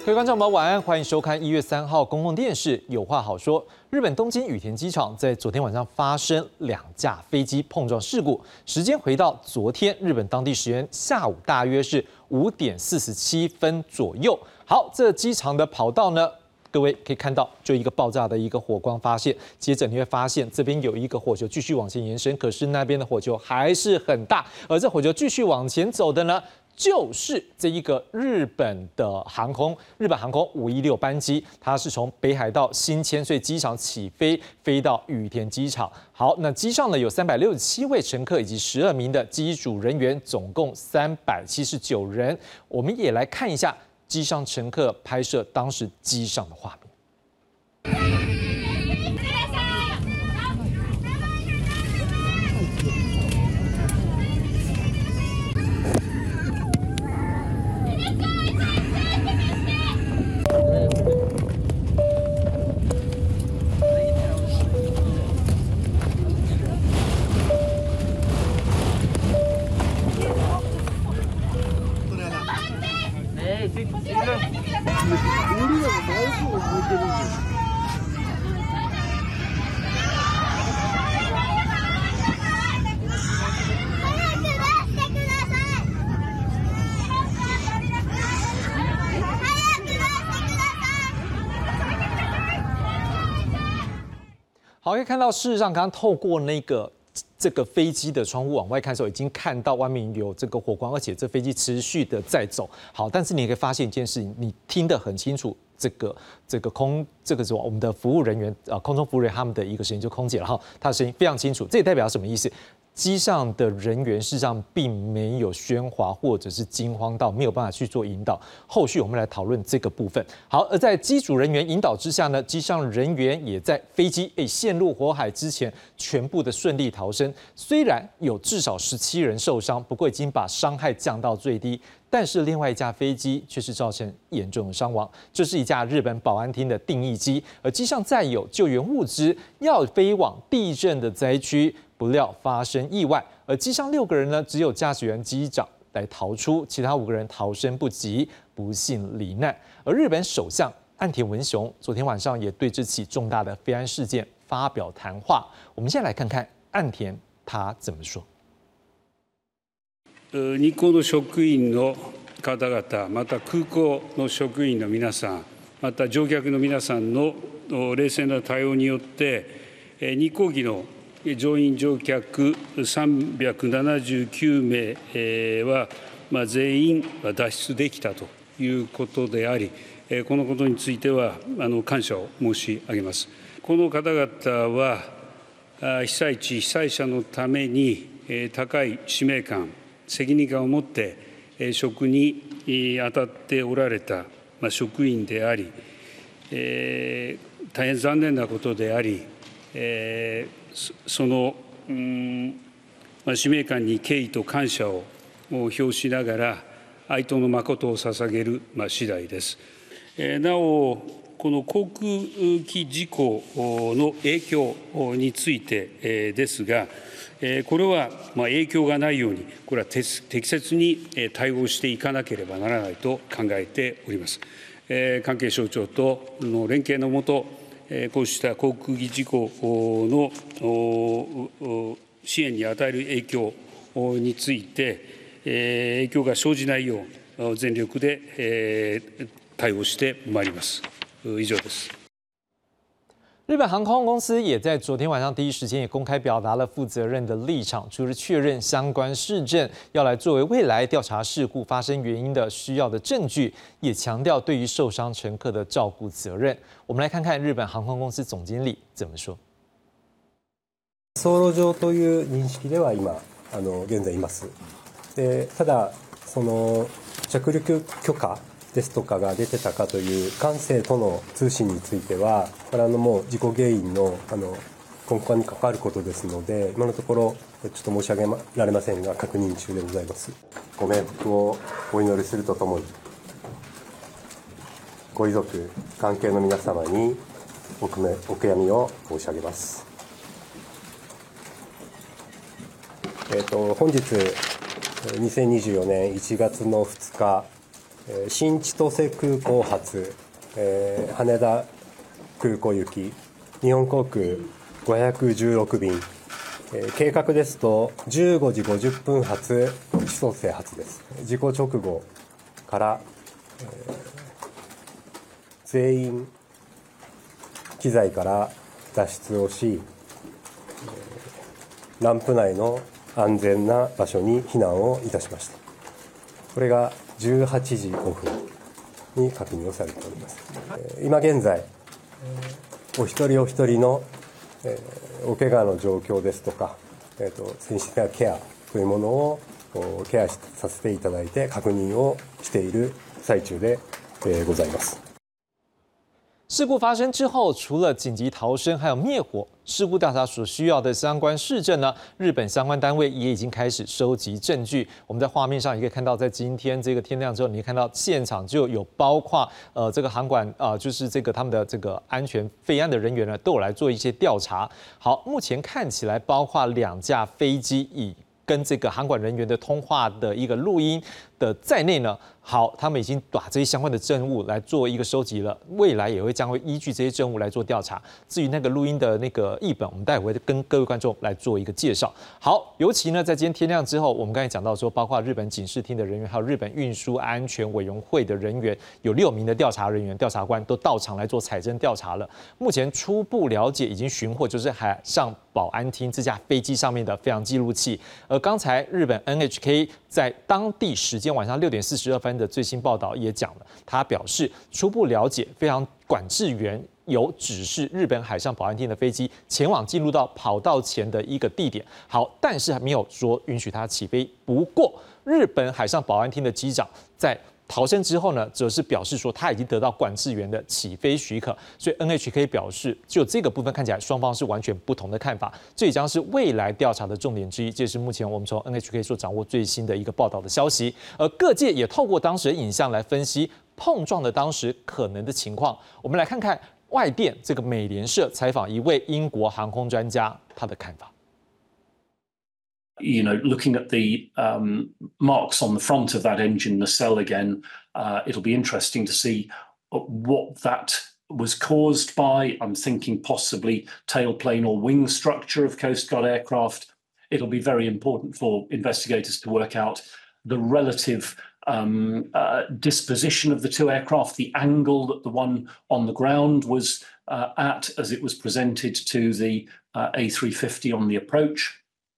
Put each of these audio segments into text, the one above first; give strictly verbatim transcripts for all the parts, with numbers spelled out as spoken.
各位观众朋友，晚安，欢迎收看一月三号公共电视《有话好说》。日本东京羽田机场在昨天晚上发生两架飞机碰撞事故，时间回到昨天日本当地时间下午大约是五点四十七分左右。好，这机场的跑道呢，各位可以看到，就一个爆炸的一个火光发现，接着你会发现这边有一个火球继续往前延伸，可是那边的火球还是很大，而这火球继续往前走的呢，就是这一个日本的航空，日本航空五一六班机，它是从北海道新千岁机场起飞，飞到羽田机场。好，那机上呢有三百六十七位乘客以及十二名的机组人员，总共三百七十九人。我们也来看一下机上乘客拍摄当时机上的画面。好，可以看到，事实上，刚刚透过那个这个飞机的窗户往外看的时候，已经看到外面有这个火光，而且这飞机持续的在走。好，但是你可以发现一件事情，你听得很清楚，这个这个空这个是我们的服务人员啊，空中服务人员他们的一个声音，就空姐了哈，她的声音非常清楚。这也代表什么意思？机上的人员事实上并没有喧哗或者是惊慌到没有办法去做引导。后续我们来讨论这个部分。好，而在机组人员引导之下呢，机上人员也在飞机诶陷入火海之前全部的顺利逃生。虽然有至少十七人受伤，不过已经把伤害降到最低。但是另外一架飞机却是造成严重的伤亡，这是一架日本保安厅的定翼机，而机上载有救援物资，要飞往地震的灾区，不料发生意外，而机上六个人呢，只有驾驶员、机长来逃出，其他五个人逃生不及，不幸罹难。而日本首相岸田文雄昨天晚上也对这起重大的飞安事件发表谈话，我们先来看看岸田他怎么说。 日航の職員の方々、また空港の職員の皆さん、また乗客の皆さんの冷静な対応によって、日航機の乗員・乗客さんびゃくななじゅうきゅうめいは、まあ、全員脱出できたということであり、このことについてはあの感謝を申し上げます。この方々は、被災地、被災者のために高い使命感、責任感を持って職に当たっておられた職員であり、大変残念なことであり、その使命感に敬意と感謝を表しながら、哀悼の誠を捧げる次第です。なお、この航空機事故の影響についてですが、これは影響がないように、これは適切に対応していかなければならないと考えております。関係省庁との連携のもと、こうした航空機事故の支援に与える影響について、影響が生じないよう全力で対応してまいります。以上です。 日本航空公司也在昨天晚上第一时间也公开表达了负责任的立场，除了确认相关事证要来作为未来调查事故发生原因的需要的证据，也强调对于受伤乘客的照顾责任。我们来看看日本航空公司总经理怎么说。 走路上という認識では今あの現在います。でただその着陸許可ですとかが出てたかという管制との通信については、これはあのもう事故原因のあの根幹に関わることですので、今のところちょっと申し上げられませんが確認中でございます。ご冥福をお祈りするとともに、ご遺族関係の皆様にお悔やみを申し上げます。えーと、本日にせんにじゅうよねんいちがつのふつか新千歳空港発、えー、羽田空港行き日本航空ごひゃくじゅうろく便、えー、計画ですとじゅうごじごじゅっぷん発千歳発です。事故直後から、えー、全員機材から脱出をし、ランプ内の安全な場所に避難をいたしました。これがじゅうはちじごふんに確認をされております。今現在お一人お一人のお怪我の状況ですとか、えー、と精神的なケアというものをケアさせていただいて確認をしている最中でございます。 事故发生之后，除了紧急逃生，还有灭火、事故调查所需要的相关事证呢，日本相关单位也已经开始收集证据。我们在画面上也可以看到，在今天这个天亮之后，你可以看到现场就有包括呃这个航管啊、呃，就是这个他们的这个安全飞安的人员呢，都有来做一些调查。好，目前看起来包括两架飞机以跟这个航管人员的通话的一个录音的在内呢。好，他们已经把这些相关的证物来做一个收集了，未来也会将会依据这些证物来做调查。至于那个录音的那个译本，我们待会会跟各位观众来做一个介绍。好，尤其呢，在今天天亮之后，我们刚才讲到说，包括日本警视厅的人员，还有日本运输安全委员会的人员，有六名的调查人员、调查官都到场来做采证调查了。目前初步了解，已经寻获就是海上保安厅这架飞机上面的飞行记录器。而刚才日本 N H K 在当地时间晚上六点四十二分的最新报道也讲了，他表示初步了解，飞行管制员有指示日本海上保安厅的飞机前往进入到跑道前的一个地点。好，但是还没有说允许它起飞。不过，日本海上保安厅的机长在逃生之后呢，则是表示说他已经得到管制员的起飞许可，所以 N H K 表示，就这个部分看起来双方是完全不同的看法，这也将是未来调查的重点之一。这是目前我们从 N H K 所掌握最新的一个报道的消息，而各界也透过当时的影像来分析碰撞的当时可能的情况。我们来看看外电这个美联社采访一位英国航空专家他的看法。 You know, looking at the um, marks on the front of that engine nacelle again, uh, it'll be interesting to see what that was caused by. I'm thinking possibly tailplane or wing structure of Coast Guard aircraft. It'll be very important for investigators to work out the relative um, uh, disposition of the two aircraft, the angle that the one on the ground was uh, at as it was presented to the uh, A three fifty on the approach.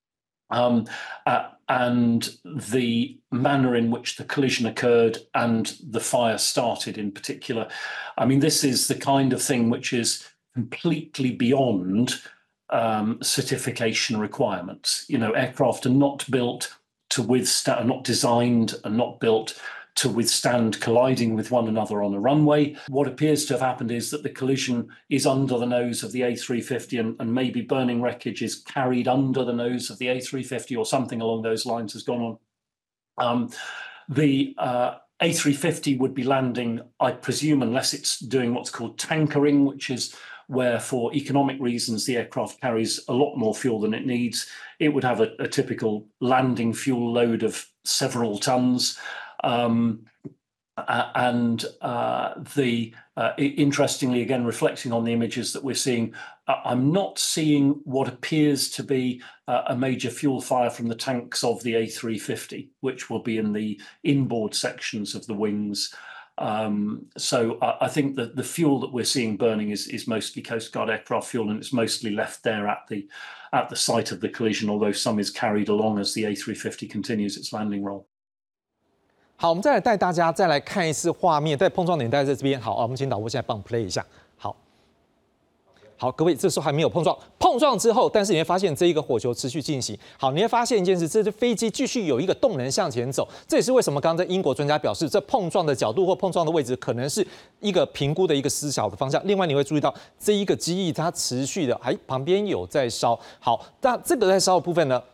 Um, uh, and the manner in which the collision occurred and the fire started in particular. I mean, this is the kind of thing which is completely beyond um, certification requirements. You know, aircraft are not built to withstand, are not designed and not built to withstand colliding with one another on a runway. What appears to have happened is that the collision is under the nose of the A three fifty and, and maybe burning wreckage is carried under the nose of the A three fifty or something along those lines has gone on. Um, the uh, A three fifty would be landing, I presume, unless it's doing what's called tankering, which is where for economic reasons the aircraft carries a lot more fuel than it needs. It would have a, a typical landing fuel load of several tons. Um, uh, and uh, the uh, interestingly, again, reflecting on the images that we're seeing, uh, I'm not seeing what appears to be uh, a major fuel fire from the tanks of the A three fifty, which will be in the inboard sections of the wings. Um, so I, I think that the fuel that we're seeing burning is, is mostly Coast Guard aircraft fuel, and it's mostly left there at the at the site of the collision, although some is carried along as the A three fifty continues its landing roll. 好，我们再来带大家再来看一次画面，在碰撞点带在这边。好，我们请导播现在帮 play 一下。好，好，各位，这时候还没有碰撞，碰撞之后，但是你会发现这一个火球持续进行。好，你会发现一件事，这支飞机继续有一个动能向前走。这也是为什么刚刚在英国专家表示，这碰撞的角度或碰撞的位置可能是一个评估的一个思考的方向。另外，你会注意到这一个机翼它持续的，还旁边有在烧。好，那这个在烧的部分呢？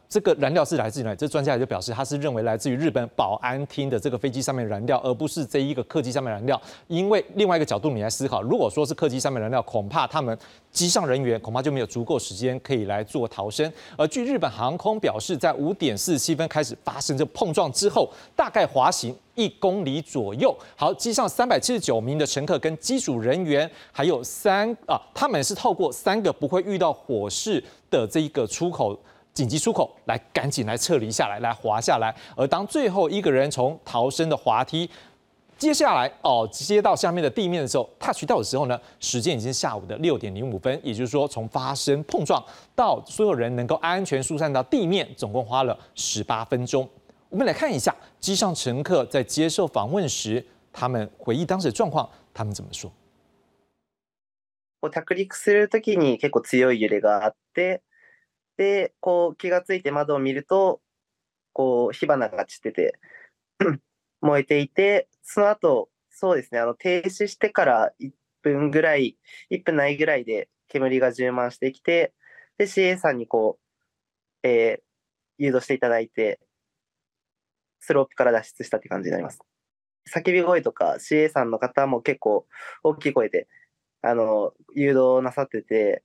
这个燃料是来自于哪里？这专家也就表示，他是认为来自于日本保安厅的这个飞机上面燃料，而不是这一个客机上面燃料。因为另外一个角度你来思考，如果说是客机上面燃料，恐怕他们机上人员恐怕就没有足够时间可以来做逃生。而据日本航空表示，在五点四十七分开始发生这碰撞之后，大概滑行一公里左右。好，机上三百七十九名的乘客跟机组人员，还有三啊，他们是透过三个不会遇到火势的这一个出口。紧急出口来，赶紧来撤离下来，来滑下来。而当最后一个人从逃生的滑梯接下来哦接到下面的地面的时候 ，touch 到的时候呢，时间已经是下午的六点零五分，也就是说，从发生碰撞到所有人能够安全疏散到地面，总共花了十八分钟。我们来看一下机上乘客在接受访问时，他们回忆当时的状况，他们怎么说？ 着陸するときに結構強い揺れがあって。で、こう気がついて窓を見ると、こう火花が散ってて燃えていて、その後、そうですね、あの停止してからいっぷんぐらい、いっぷんないぐらいで煙が充満してきて、で シーエー さんにこう、えー、誘導していただいて、スロープから脱出したって感じになります。叫び声とか シーエー さんの方も結構大きい声であの誘導なさってて。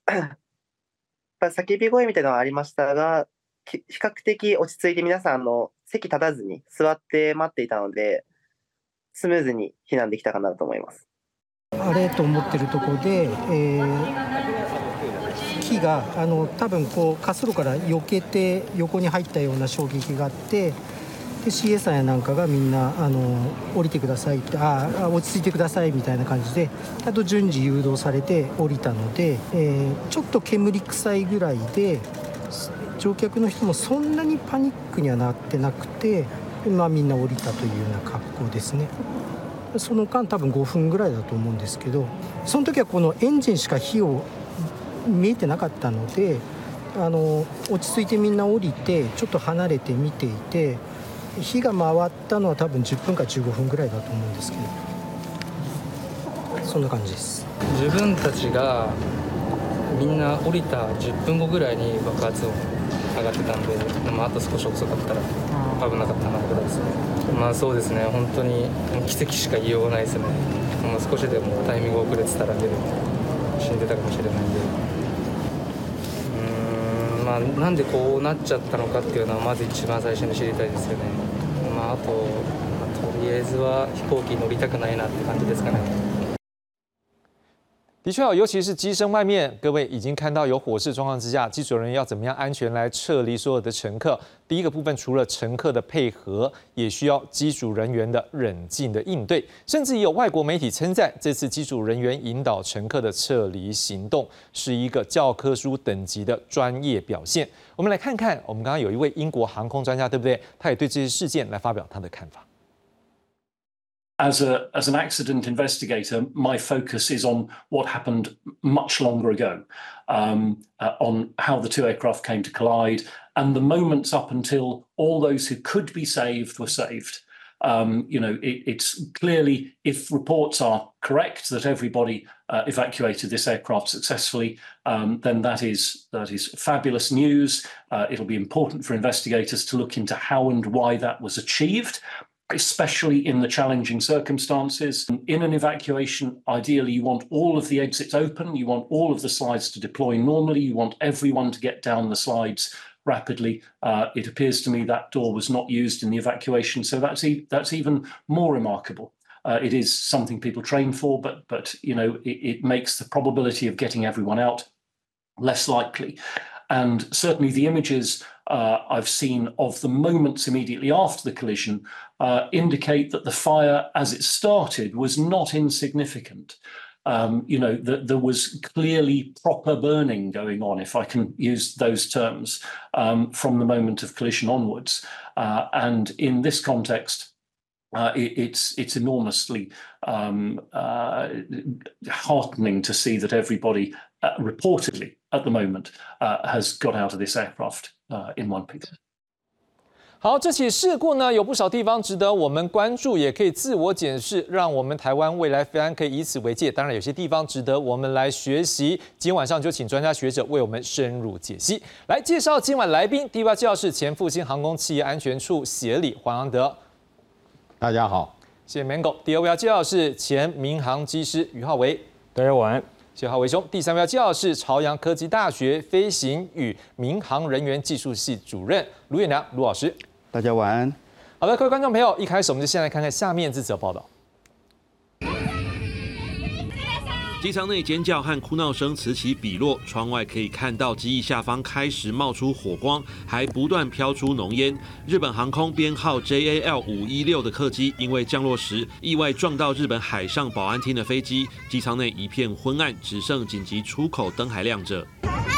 叫び声みたいなのはありましたが、比較的落ち着いて皆さんあの席立たずに座って待っていたので、スムーズに避難できたかなと思います。 あれと思ってるところで、えー、木があの多分こう滑走路から避けて横に入ったような衝撃があって、で シーエー さんやなんかがみんなあの降りてくださいってああ落ち着いてくださいみたいな感じであと順次誘導されて降りたので、えー、ちょっと煙臭いぐらいで乗客の人もそんなにパニックにはなってなくて、まあ、みんな降りたというような格好ですね。その間多分ごふんぐらいだと思うんですけど、その時はこのエンジンしか火を見えてなかったので、あの落ち着いてみんな降りてちょっと離れて見ていて。火が回ったのは多分じゅっぷんかじゅうごふんぐらいだと思うんですけど、そんな感じです。 自分たちがみんな降りたじゅっぷんごぐらいに爆発音上がってたんで、でもあと少し遅かったら危なかったなぐらいですね。まあそうですね、本当に奇跡しか言いようがないですね。もう少しでもタイミング遅れてたら死んでたかもしれないんで、うーんまあなんでこうなっちゃったのかっていうのはまず一番最初に知りたいですよね。まあ、あと、まあ、とりあえずは飛行機乗りたくないなって感じですかね。 的确哦，尤其是机身外面，各位已经看到有火势状况之下，机组人员要怎么样安全来撤离所有的乘客。第一个部分，除了乘客的配合，也需要机组人员的冷静的应对。甚至也有外国媒体称赞，这次机组人员引导乘客的撤离行动是一个教科书等级的专业表现。我们来看看，我们刚刚有一位英国航空专家，对不对？他也对这些事件来发表他的看法。 As a as an accident investigator, my focus is on what happened much longer ago, um, uh, on how the two aircraft came to collide, and the moments up until all those who could be saved were saved. Um, you know, it, it's clearly, if reports are correct that everybody uh, evacuated this aircraft successfully, um, then that is that is fabulous news. Uh, it'll be important for investigators to look into how and why that was achieved, especially in the challenging circumstances. In an evacuation, ideally, you want all of the exits open, you want all of the slides to deploy normally, you want everyone to get down the slides rapidly. Uh, it appears to me that door was not used in the evacuation, so that's, e that's even more remarkable. Uh, it is something people train for, but, but you know, it, it makes the probability of getting everyone out less likely. And certainly the images uh, I've seen of the moments immediately after the collision uh, indicate that the fire as it started was not insignificant. Um, you know, th there was clearly proper burning going on, if I can use those terms, um, from the moment of collision onwards. Uh, and in this context, Uh, it, it's it's enormously um, uh, heartening to see that everybody uh, reportedly at the moment uh, has got out of this aircraft uh, in one piece. 好，这起事故呢，有不少地方值得我们关注，也可以自我检视，让我们台湾未来飞安可以以此为戒。当然，有些地方值得我们来学习。今天晚上就请专家学者为我们深入解析。来介绍今晚来宾，第一位介绍是前复兴航空企业安全处协理黄阳德， 大家好， 谢谢 Mango。第二位要介绍是前民航机师于浩维， 大家晚安。 谢谢浩维兄。第三位要介绍是朝阳科技大学飞行与民航人员技术系主任卢彦良卢老师。 大家晚安。 好的，各位观众朋友，一开始我们就先来看看下面这则报道。 机舱内尖叫和哭闹声此起彼落，窗外可以看到机翼下方开始冒出火光，还不断飘出浓烟。日本航空编号 J A L 五一六的客机因为降落时意外撞到日本海上保安厅的飞机，机舱内一片昏暗，只剩紧急出口灯还亮着。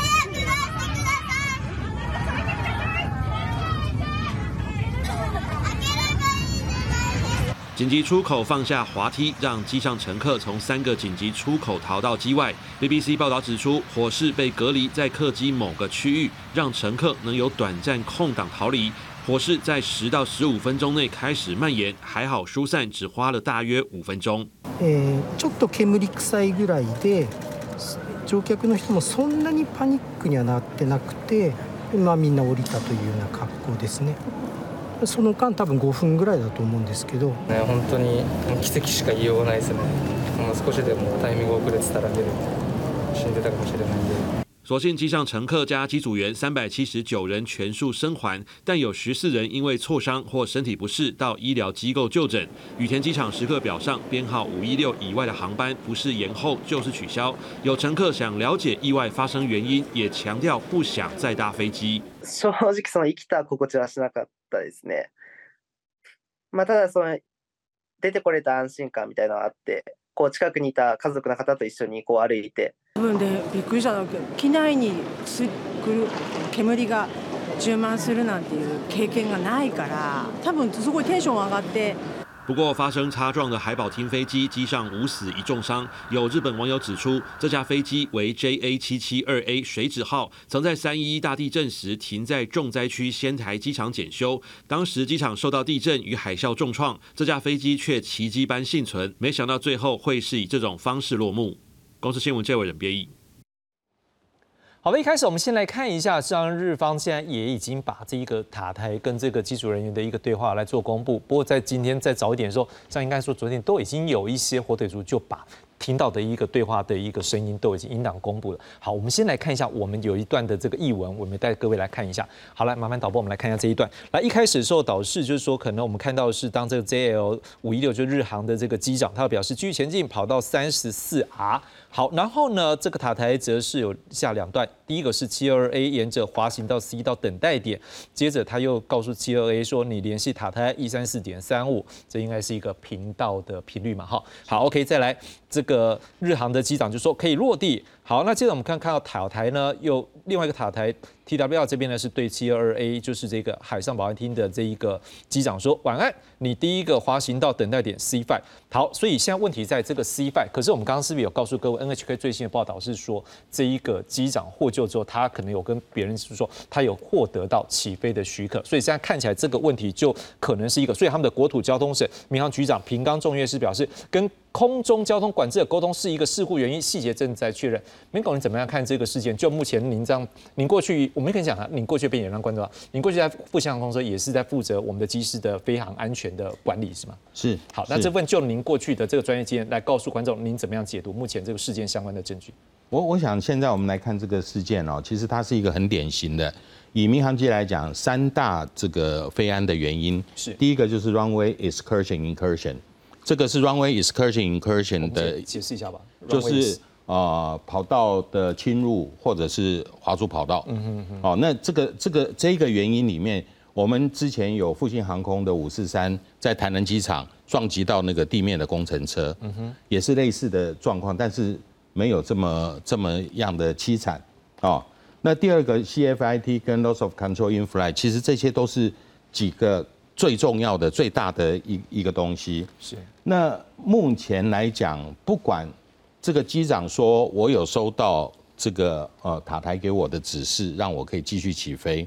紧急出口放下滑梯，让机上乘客从三个紧急出口逃到机外。B B C 报道指出，火势被隔离在客机某个区域，让乘客能有短暂空档逃离。火势在十到十五分钟内开始蔓延，还好疏散只花了大约五分钟。 えー、ちょっと煙臭いぐらいで、乗客の人もそんなにパニックにはなってなくて、まあみんな降りたというような格好ですね。その間多分ごふんぐらいだと思うんですけど、 ね、本当に奇跡しか言いようがないですね。もう少しでもタイミング遅れてたら死んでたかもしれないんで。 所幸机上乘客加机组员三百七十九人全数生还，但有十四人因为挫伤或身体不适到医疗机构就诊。羽田机场时刻表上编号五一六以外的航班不是延后就是取消。有乘客想了解意外发生原因，也强调不想再搭飞机。 正直その生きた心地はしなかったですね。まあただその出てこれた安心感みたいなのがあって。こう近くにいた家族の方と一緒にこう歩いて。 自分でびっくりしたのが機内に来る煙が充満するなんていう経験がないから、多分すごいテンション上がって。 不过，发生擦撞的海保厅飞机机上五死一重伤。有日本网友指出，这架飞机为 J A 七七二 A 水指号，曾在三一一大地震时停在重灾区仙台机场检修。当时机场受到地震与海啸重创，这架飞机却奇迹般幸存。没想到最后会是以这种方式落幕。公司新闻这位人编译。 好的，一开始我们先来看一下，像日方现在也已经把这一个塔台跟这个机组人员的一个对话来做公布。不过在今天再早一点的时候，像应该说昨天都已经有一些火腿族就把听到的一个对话的一个声音都已经音档公布了。好，我们先来看一下，我们有一段的这个译文，我们带各位来看一下。好，来麻烦导播，我们来看一下这一段。来，一开始的时候，导视就是说，可能我们看到的是当这个 J L 五一六就日航的这个机长，他表示继续前进，跑到三十四 R。好，然后呢，这个塔台则是有下两段，第一个是七二 A 沿着滑行到 C 到等待点，接着他又告诉七二 A 说，你联系塔台一三四点三五，这应该是一个频道的频率嘛，哈。好 ，OK， 再来，这个日航的机长就说可以落地。好，那接着我们看看到塔台呢，又另外一个塔台 T W R 这边呢是对七二 A， 就是这个海上保安厅的这一个机长说晚安，你第一个滑行到等待点 C 五。好，所以现在问题在这个 C 五， 可是我们刚刚是不是有告诉各位 N H K 最新的报道是说，这一个机长获救之后，他可能有跟别人说他有获得到起飞的许可，所以现在看起来这个问题就可能是一个，所以他们的国土交通省民航局长平冈重岳是表示跟空中交通管制的沟通是一个事故原因，细节正在确认。明狗，你怎么样看这个事件？就目前您这样，您过去我们可以讲啊，您过去被也让观众，您过去在复兴航空公司也是在负责我们的机师的飞航安全的管理，是吗？ 是。 好，那这份就您过去的这个专业经验来告诉观众，您怎么样解读目前这个事件相关的证据？ 我我想现在我们来看这个事件哦，其实它是一个很典型的，以民航机来讲，三大这个飞安的原因是第一个就是 runway excursion incursion。这个是 runway excursion incursion 的， 解释一下吧， 就是呃跑道的侵入或者是滑出跑道。嗯哼哼。哦，那这个这个这个原因里面，我们之前有复兴航空的五四三在台南机场撞击到那个地面的工程车，嗯哼，也是类似的状况，但是没有这么这么样的凄惨。哦，那第二个 C F I T 跟 loss of control in flight， 其实这些都是几个最重要的、最大的一一个东西。是。那目前来讲，不管这个机长说我有收到这个呃塔台给我的指示，让我可以继续起飞，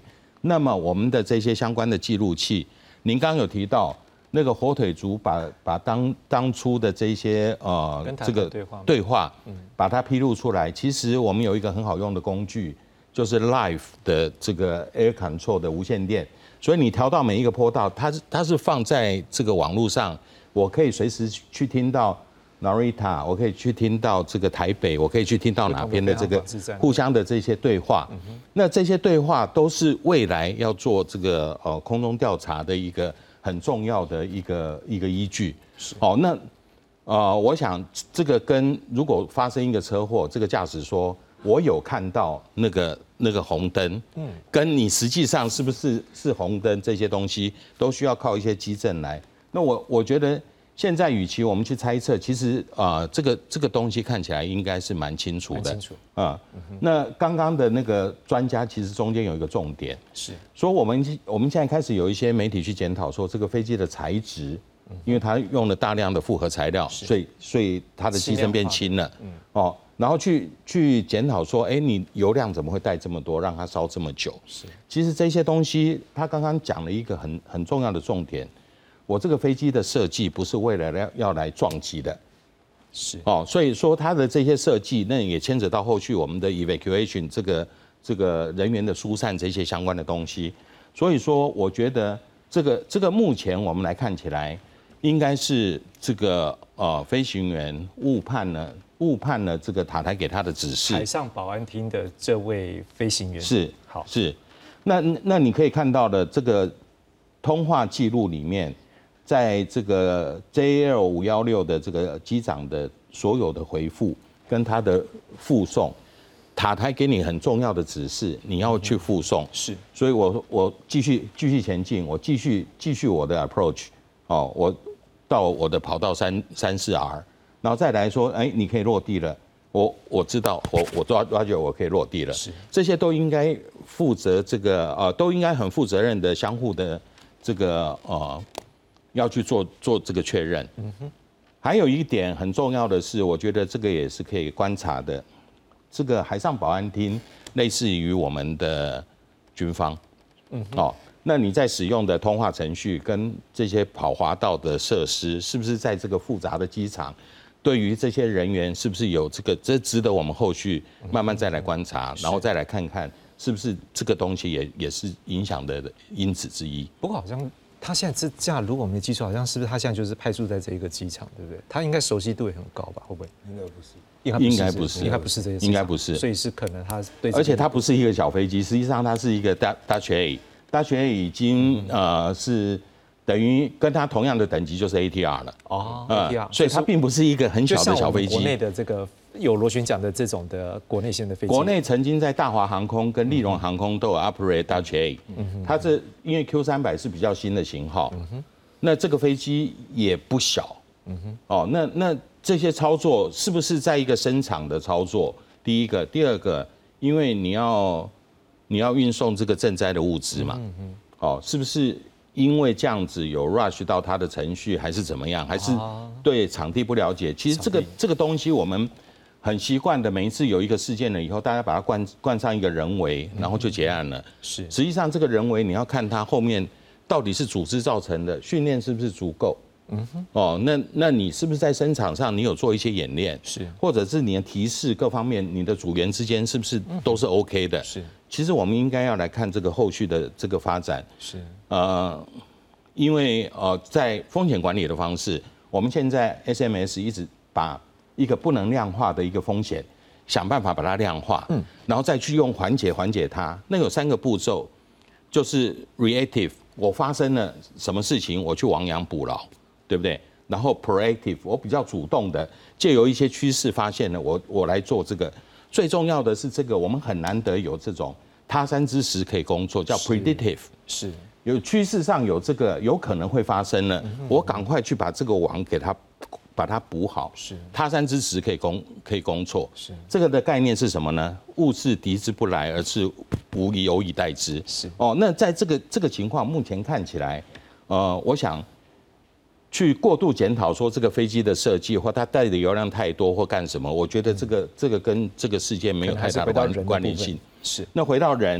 那么我们的这些相关的记录器，您刚刚有提到那个火腿族把把当当初的这些呃这个对话对话，把它披露出来。其实我们有一个很好用的工具，就是 Live 的这个 Air Control 的无线电，所以你调到每一个坡道，它是它是放在这个网络上，我可以随时去听到 Narita， 我可以去听到这个台北，我可以去听到哪边的这个互相的这些对话。那这些对话都是未来要做这个呃空中调查的一个很重要的一个一个依据。哦，那呃，我想这个跟如果发生一个车祸，这个驾驶说我有看到那个那个红灯，嗯，跟你实际上是不是是红灯这些东西，都需要靠一些基证来。那我我觉得。现在，与其我们去猜测，其实啊、呃，这个这个东西看起来应该是蛮清楚的。 蛮清楚啊、嗯。那刚刚的那个专家，其实中间有一个重点， 是说我们我们现在开始有一些媒体去检讨说，这个飞机的材质，因为它用了大量的复合材料，所以所以它的机身变轻了。嗯。哦，然后去去检讨说，哎，你油量怎么会带这么多，让它烧这么久？ 是。 其实这些东西，他刚刚讲了一个很很重要的重点。我这个飞机的设计不是为了要要来撞击的， 是哦，所以说它的这些设计，那也牵扯到后续我们的 evacuation 这个这个人员的疏散这些相关的东西。所以说，我觉得这个这个目前我们来看起来，应该是这个呃飞行员误判了误判了这个塔台给他的指示。 海上保安厅的这位飞行员是好是，那那你可以看到的这个通话记录里面。在这个 J L 五一六的这个机长的所有的回复跟他的附送，塔台给你很重要的指示，你要去附送。 是， 所以我我继续继续前进，我继续继续我的 approach， 哦，我到我的跑道三三四 R， 然后再来说，哎，你可以落地了。我我知道，我我抓抓住我可以落地了。 是， 这些都应该负责这个呃，都应该很负责任的相互的这个呃。要去做做这个确认。嗯哼，还有一点很重要的是，我觉得这个也是可以观察的。这个海上保安厅类似于我们的军方，嗯，哦，那你在使用的通话程序跟这些跑滑道的设施，是不是在这个复杂的机场，对于这些人员是不是有这个？这值得我们后续慢慢再来观察，然后再来看看是不是这个东西也也是影响的因子之一。 不过好像。他现在这架，如果我没记错，好像是不是他现在就是派驻在这一个机场，对不对？他应该熟悉度也很高吧？会不会？ 应该不是， 应该不是， 应该不是这些， 应该不是。 所以是可能他对， 而且它不是一个小飞机，实际上它是一个大大学 A， 大学 A 已经呃是等于跟它同样的等级就是 A T R 了。 哦 ，A T R， 所以它并不是一个很小的小飞机。 国内的这个有螺旋桨的这种的国内线的飞机， 国内曾经在大华航空跟立荣航空都有 operate Dash A， 它这因为 Q 三百是比较新的型号。那这个飞机也不小，嗯哼，哦，那那这些操作是不是在一个生产的操作？第一个，第二个，因为你要你要运送这个赈灾的物资嘛，嗯哼，哦，是不是因为这样子有 rush 到它的程序，还是怎么样？还是对场地不了解？其实这个这个东西我们很习惯的，每一次有一个事件了以后，大家把它冠冠上一个人为，然后就结案了。 是， 实际上这个人为你要看它后面。到底是组织造成的，训练是不是足够？嗯哼，哦，那那你是不是在生场上你有做一些演练？ 是， 或者是你的提示各方面，你的组员之间是不是都是 OK 的？ 是， 其实我们应该要来看这个后续的这个发展。 是， 呃，因为呃，在风险管理的方式，我们现在 S M S 一直把一个不能量化的一个风险，想办法把它量化，嗯，然后再去用缓解缓解它。那有三个步骤，就是 reactive。我发生了什么事情，我去亡羊补牢，对不对？然后 proactive， 我比较主动的，借由一些趋势发现了，我我来做这个。最重要的是这个，我们很难得有这种他山之石可以工作，叫 predictive， 是有趋势上有这个有可能会发生了，嗯、我赶快去把这个网给它把它补好， 是他山之石可以攻可以攻错， 是这个的概念是什么呢？物是敌之不来，而是无以有以待之。 是哦，那在这个这个情况，目前看起来，呃，我想去过度检讨说这个飞机的设计或它带的油量太多或干什么，我觉得这个、嗯、这个跟这个事件没有太大的关关联性。 是。 那回到人，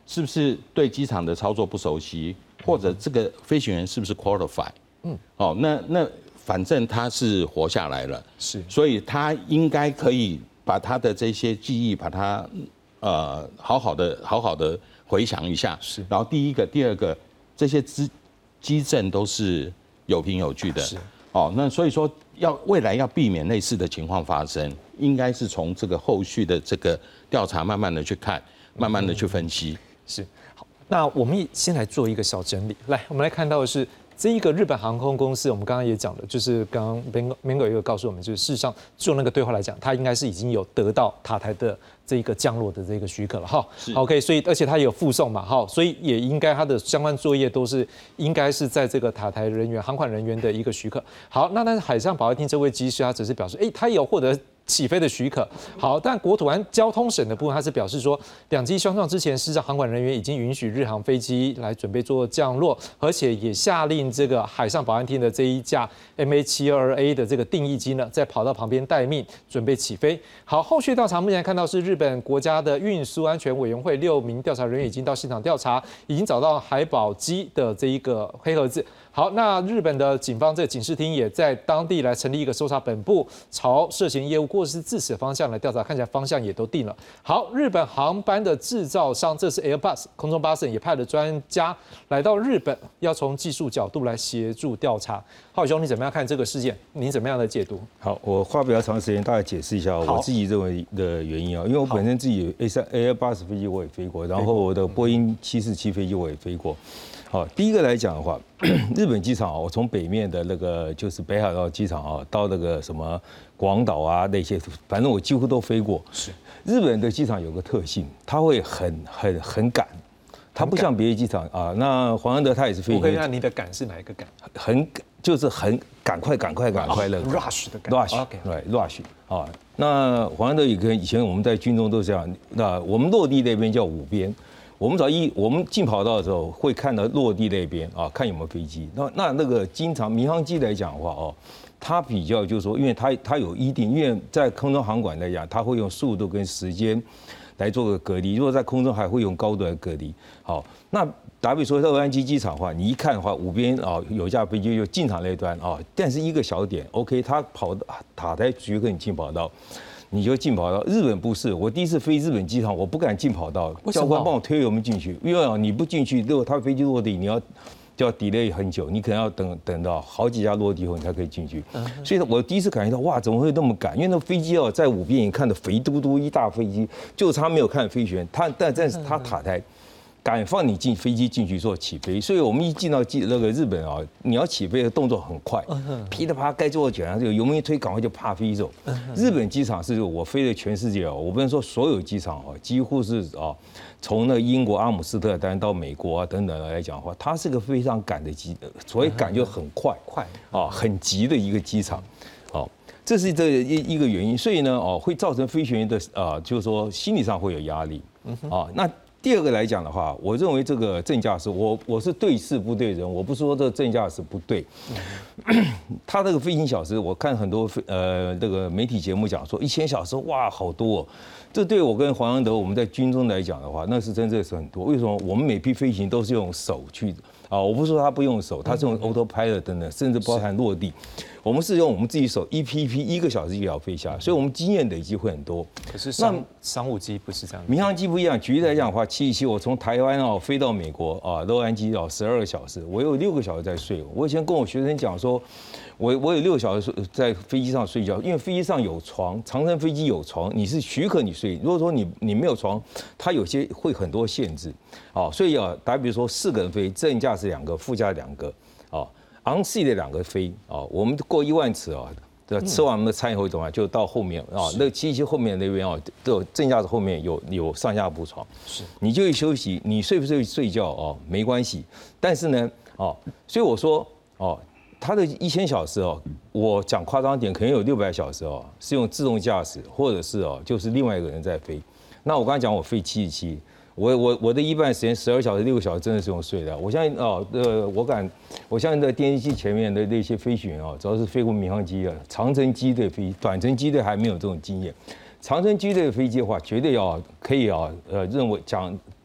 是不是对机场的操作不熟悉，或者这个飞行员是不是 qualify？ 嗯，哦，那那反正他是活下来了， 是， 所以他应该可以把他的这些记忆，把它呃好好的好好的回想一下。 是， 然后第一个、第二个这些机机证都是有凭有据的。 是， 哦，那所以说要未来要避免类似的情况发生，应该是从这个后续的这个调查慢慢的去看，慢慢的去分析。 是，好，那我们先来做一个小整理。来，我们来看到的是这一个日本航空公司，我们刚刚也讲了，就是刚刚 Mango Mango 也有告诉我们，就是事实上就那个对话来讲，它应该是已经有得到塔台的这一个降落的这个许可了哈。OK， 所以而且它也有附送嘛，哈，所以也应该它的相关作业都是应该是在这个塔台人员、航管人员的一个许可。好，那但是海上保安厅这位机师，他只是表示，哎、欸，他有获得起飞的许可。好，但国土安交通省的部分，他是表示说，两机相撞之前，事实上航管人员已经允许日航飞机来准备做降落，而且也下令这个海上保安厅的这一架 M A 七二 A 的这个定翼机呢，在跑道旁边待命，准备起飞。好，后续调查目前看到是日本国家的运输安全委员会六名调查人员已经到现场调查，已经找到海保机的这一个黑盒子。好，那日本的警方这个警视厅也在当地来成立一个搜查本部，朝涉嫌业务过失致死方向来调查，看起来方向也都定了。好，日本航班的制造商，这是 Airbus 空中巴士也派了专家来到日本，要从技术角度来协助调查。浩宇兄，你怎么样看这个事件？你怎么样的解读？ 好，我花比较长时间大概解释一下我自己认为的原因啊，因为我本身自己 A 三 Airbus 飞机我也飞过，然后我的波音七四七飞机我也飞过。好，第一个来讲的话，日本机场啊，我从北面的那个就是北海道机场啊，到那个什么广岛啊那些，反正我几乎都飞过。是，日本的机场有个特性，它会很很很赶，它不像别的机场啊。那黄安德他也是飞。 我可以看你的赶是哪一个赶？ 很就是很赶快赶快赶快那个 rush 的赶 rush 对 rush 啊。那黄安德也跟以前我们在军中都这样，那我们落地那边叫五边。我们早一我们进跑道的时候会看到落地那边啊，看有没有飞机。那那那个经常民航机来讲的话哦，它比较就是说，因为它它有一定，因为在空中航管来讲，它会用速度跟时间来做个隔离。如果在空中还会用高度来隔离。好，那打比说洛杉矶机场的话，你一看的话，五边啊有架飞机就进场那端啊，但是一个小点 ，OK， 它跑塔台局跟你进跑道。你就进跑道，日本不是。我第一次飞日本机场，我不敢进跑道，教官帮我推油门进去，因为你不进去，如果他飞机落地，你要就要 delay 很久，你可能要等等到好几架落地后你才可以进去。所以我第一次感觉到哇，怎么会那么赶？因为那飞机哦，在五边你看的肥嘟嘟一大飞机，就差没有看飞行员，他但但是他塔台。敢放你进飞机进去做起飞，所以我们一进到那个日本啊，你要起飞的动作很快，噼里啪啦该做的卷，这个油门一推，赶快就啪飞走。日本机场是我飞的全世界哦，我不能说所有机场哦，几乎是啊，从那英国阿姆斯特丹到美国啊等等来讲的话，它是个非常赶的机，所谓赶就很快，快啊，很急的一个机场，哦。这是这一一个原因，所以呢，哦，会造成飞行员的啊，就是说心理上会有压力，啊，那。第二个来讲的话，我认为这个正驾驶，我我是对事不对人，我不是说这个正驾驶不对。他这个飞行小时，我看很多呃这个媒体节目讲说一千小时，哇，好多哦。这对我跟黄安德我们在军中来讲的话，那是真的是很多。为什么？我们每批飞行都是用手去啊，我不是说他不用手，他是用 autopilot 等等，甚至包含落地。我们是用我们自己手一批一批一个小时就要飞下，所以我们经验累积会很多。 可是商商务机不是这样， 民航机不一样。举例来讲的话，七一七我从台湾哦飞到美国啊，洛杉矶哦十二个小时，我有六个小时在睡。我以前跟我学生讲说，我我有六个小时在飞机上睡觉，因为飞机上有床，长程飞机有床，你是许可你睡。如果说你你没有床，它有些会很多限制，哦，所以啊，打比如说四个人飞，正驾驶两个，副驾两个，哦。昂 C 的两个飞啊，我们过一万尺啊，吃完我们的餐以后怎么样？就到后面啊，那七七后面那边啊，都有正驾驶后面有有上下铺床，是，你就一休息，你睡不睡睡觉哦没关系，但是呢，哦，所以我说哦，它的一千小时哦，我讲夸张点，可能有六百小时哦，是用自动驾驶，或者是哦，就是另外一个人在飞。那我刚才讲我飞七十七。我我我的一半时间十二小时六个小时真的是用睡的。我相信哦，呃，我敢，我相信在电视机前面的那些飞行员哦，主要是飞过民航机啊，长程机队飞，短程机队还没有这种经验。长程机队的飞机的话，绝对要可以啊，呃，认为讲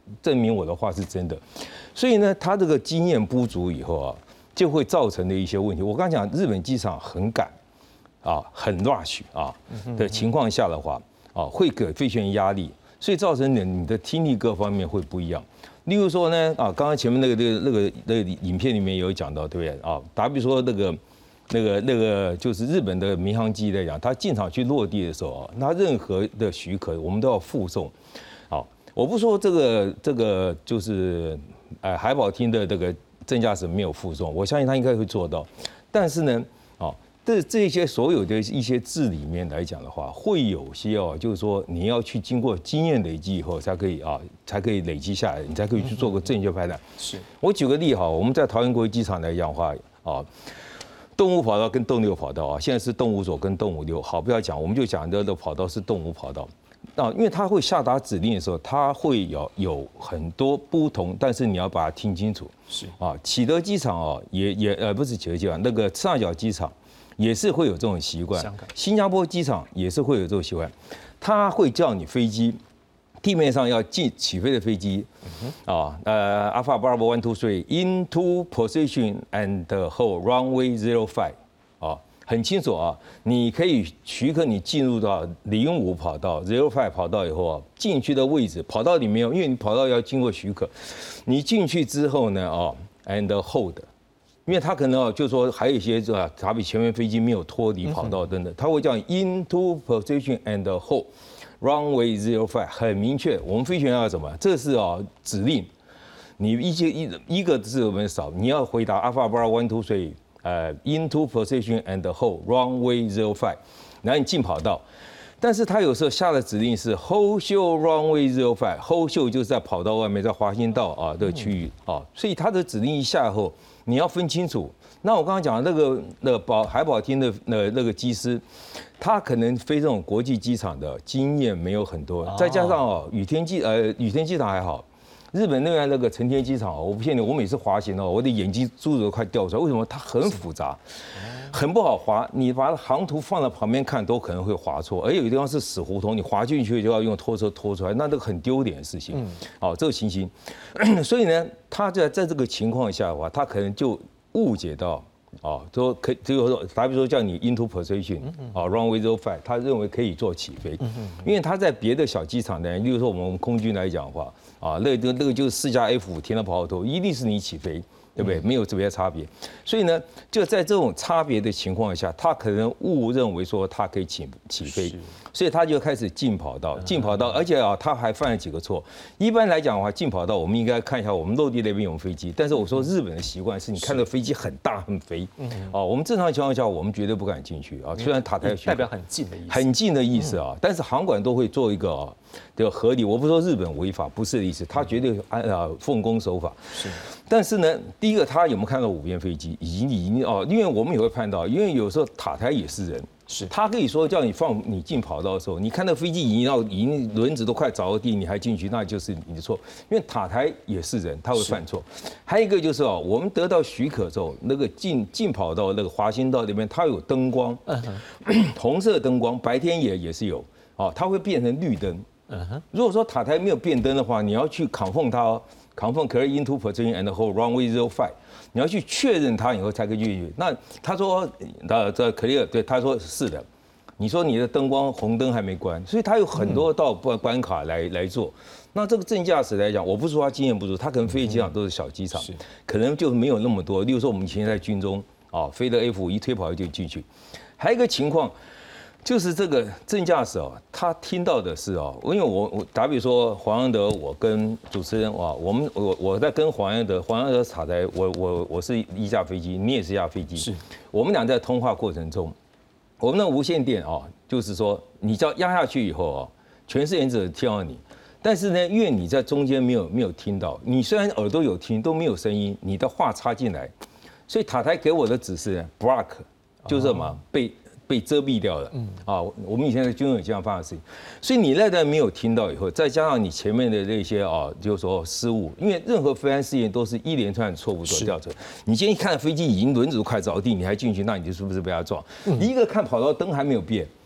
证明我的话是真的。所以呢，他这个经验不足以后啊，就会造成的一些问题。我刚讲日本机场很赶啊，很 rush 啊的情况下的话啊，会给飞行员压力，所以造成你你的听力各方面会不一样。例如说呢，啊，刚刚前面那个那个那个那个影片里面有讲到，对不对啊？打比说那个那个那个就是日本的民航机来讲，它进场去落地的时候啊，那任何的许可我们都要附送。好，我不说这个这个就是呃海保厅的这个正驾驶没有附送，我相信他应该会做到。但是呢，啊，这这些所有的一些字里面来讲的话，会有些哦，就是说你要去经过经验累积以后，才可以啊，才可以累积下来，你才可以去做个正确判断。 是我举个例哈，我们在桃园国际机场来讲的话啊。动物跑道跟动六跑道啊，现在是动物左跟动物六。好，不要讲，我们就讲的的跑道是动物跑道。啊，因为它会下达指令的时候，它会有有很多不同，但是你要把它听清楚。 是啊，启德机场哦，也也呃不是启德机场，那个赤坂机场也是会有这种习惯。新加坡机场也是会有这种习惯，它会叫你飞机。地面上要进起飞的飞机，啊，呃 ，Alpha Bravo one two three into position and hold runway zero five， 啊，很清楚啊，你可以许可你进入到零五跑道 zero five 跑道以后啊，进去的位置跑道里面，因为你跑道要经过许可，你进去之后呢，啊 ，and hold， 因为它可能啊，就是说还有一些啊，它比前面飞机没有脱离跑道等等，它会叫你 into position and hold。Runway zero five 很明确，我们飞行员要什么？这是啊指令，你一些一一个字我们少，你要回答 Alpha Bravo one two three， 呃 into position and hold runway zero five， 然后你进跑道。但是他有时候下的指令是 hold show runway zero five，hold show 就是在跑道外面，在滑行道啊的区域啊，所以他的指令一下后，你要分清楚。那我刚刚讲的那个那个保海保厅的那那个机师，他可能飞这种国际机场的经验没有很多，再加上哦羽田机呃羽田机场还好，日本那边那个成田机场哦，我不骗你，我每次滑行哦，我的眼睛珠子都快掉出来，为什么？它很复杂，很不好滑，你把航图放在旁边看都可能会滑错，而有的地方是死胡同，你滑进去就要用拖车拖出来，那这个很丢脸的事情。哦，这个情形，所以呢，他在在这个情况下的话，他可能就误解到，哦，说可，就是说，打比如说叫你 into position， 啊 runway zero five， 他认为可以做起飞，因为他在别的小机场呢，例如说我们空军来讲的话，啊，那个那个就是四架 F 五停到跑道头，一定是你起飞。对不对？没有特别差别，所以呢，就在这种差别的情况下，他可能误认为说他可以起起飞，所以他就开始进跑道，进跑道，而且啊，他还犯了几个错。一般来讲的话，进跑道我们应该看一下我们落地那边有飞机，但是我说日本的习惯是你看到飞机很大很肥，啊，我们正常情况下我们绝对不敢进去啊，虽然塔台代表很近的意思， 很近的意思啊，但是航管都会做一个啊的合理，我不说日本违法，不是的意思，他绝对按啊奉公守法。是。但是呢，第一个他有没有看到五边飞机？已经已经哦，因为我们也会看到，因为有时候塔台也是人，是他可以说叫你放你进跑道的时候，你看到飞机已经到已经轮子都快着到地，你还进去，那就是你的错。因为塔台也是人，他会犯错。还有一个就是哦，我们得到许可之后，那个进进跑道那个滑行道那边，它有灯光，红色灯光，白天也也是有，哦，它会变成绿灯。如果说塔台没有变灯的话，你要去扛缝它哦。Confirm clear into position and hold runway zero five， 你要去确认它以后才可以进去。那他说，呃，这 clear， 对，他说是的。你说你的灯光红灯还没关，所以他有很多道关关卡来来做。那这个正驾驶来讲，我不是说他经验不足，他可能飞机场都是小机场，可能就没有那么多。例如说我们以前在军中啊，飞的 F 五一推跑就进去。还有一个情况。就是这个正驾驶哦，他听到的是哦，因为我我打比说黄安德，我跟主持人哇，我们我我在跟黄安德，黄安德塔台，我我我是一架飞机，你也是一架飞机，是我们俩在通话过程中，我们的无线电哦，就是说你只要压下去以后哦，全世界只听到你，但是呢，因为你在中间没有没有听到，你虽然耳朵有听都没有声音，你的话插进来，所以塔台给我的指示 block 就是什么被。被遮蔽掉了，啊，我们以前在军中有这样发生的事情，所以你那段没有听到以后，再加上你前面的那些啊，就是说失误，因为任何飞安试验都是一连串的错误所造成。你今天一看飞机已经轮子都快着地，你还进去，那你就是不是被他撞？一个看跑道灯还没有变，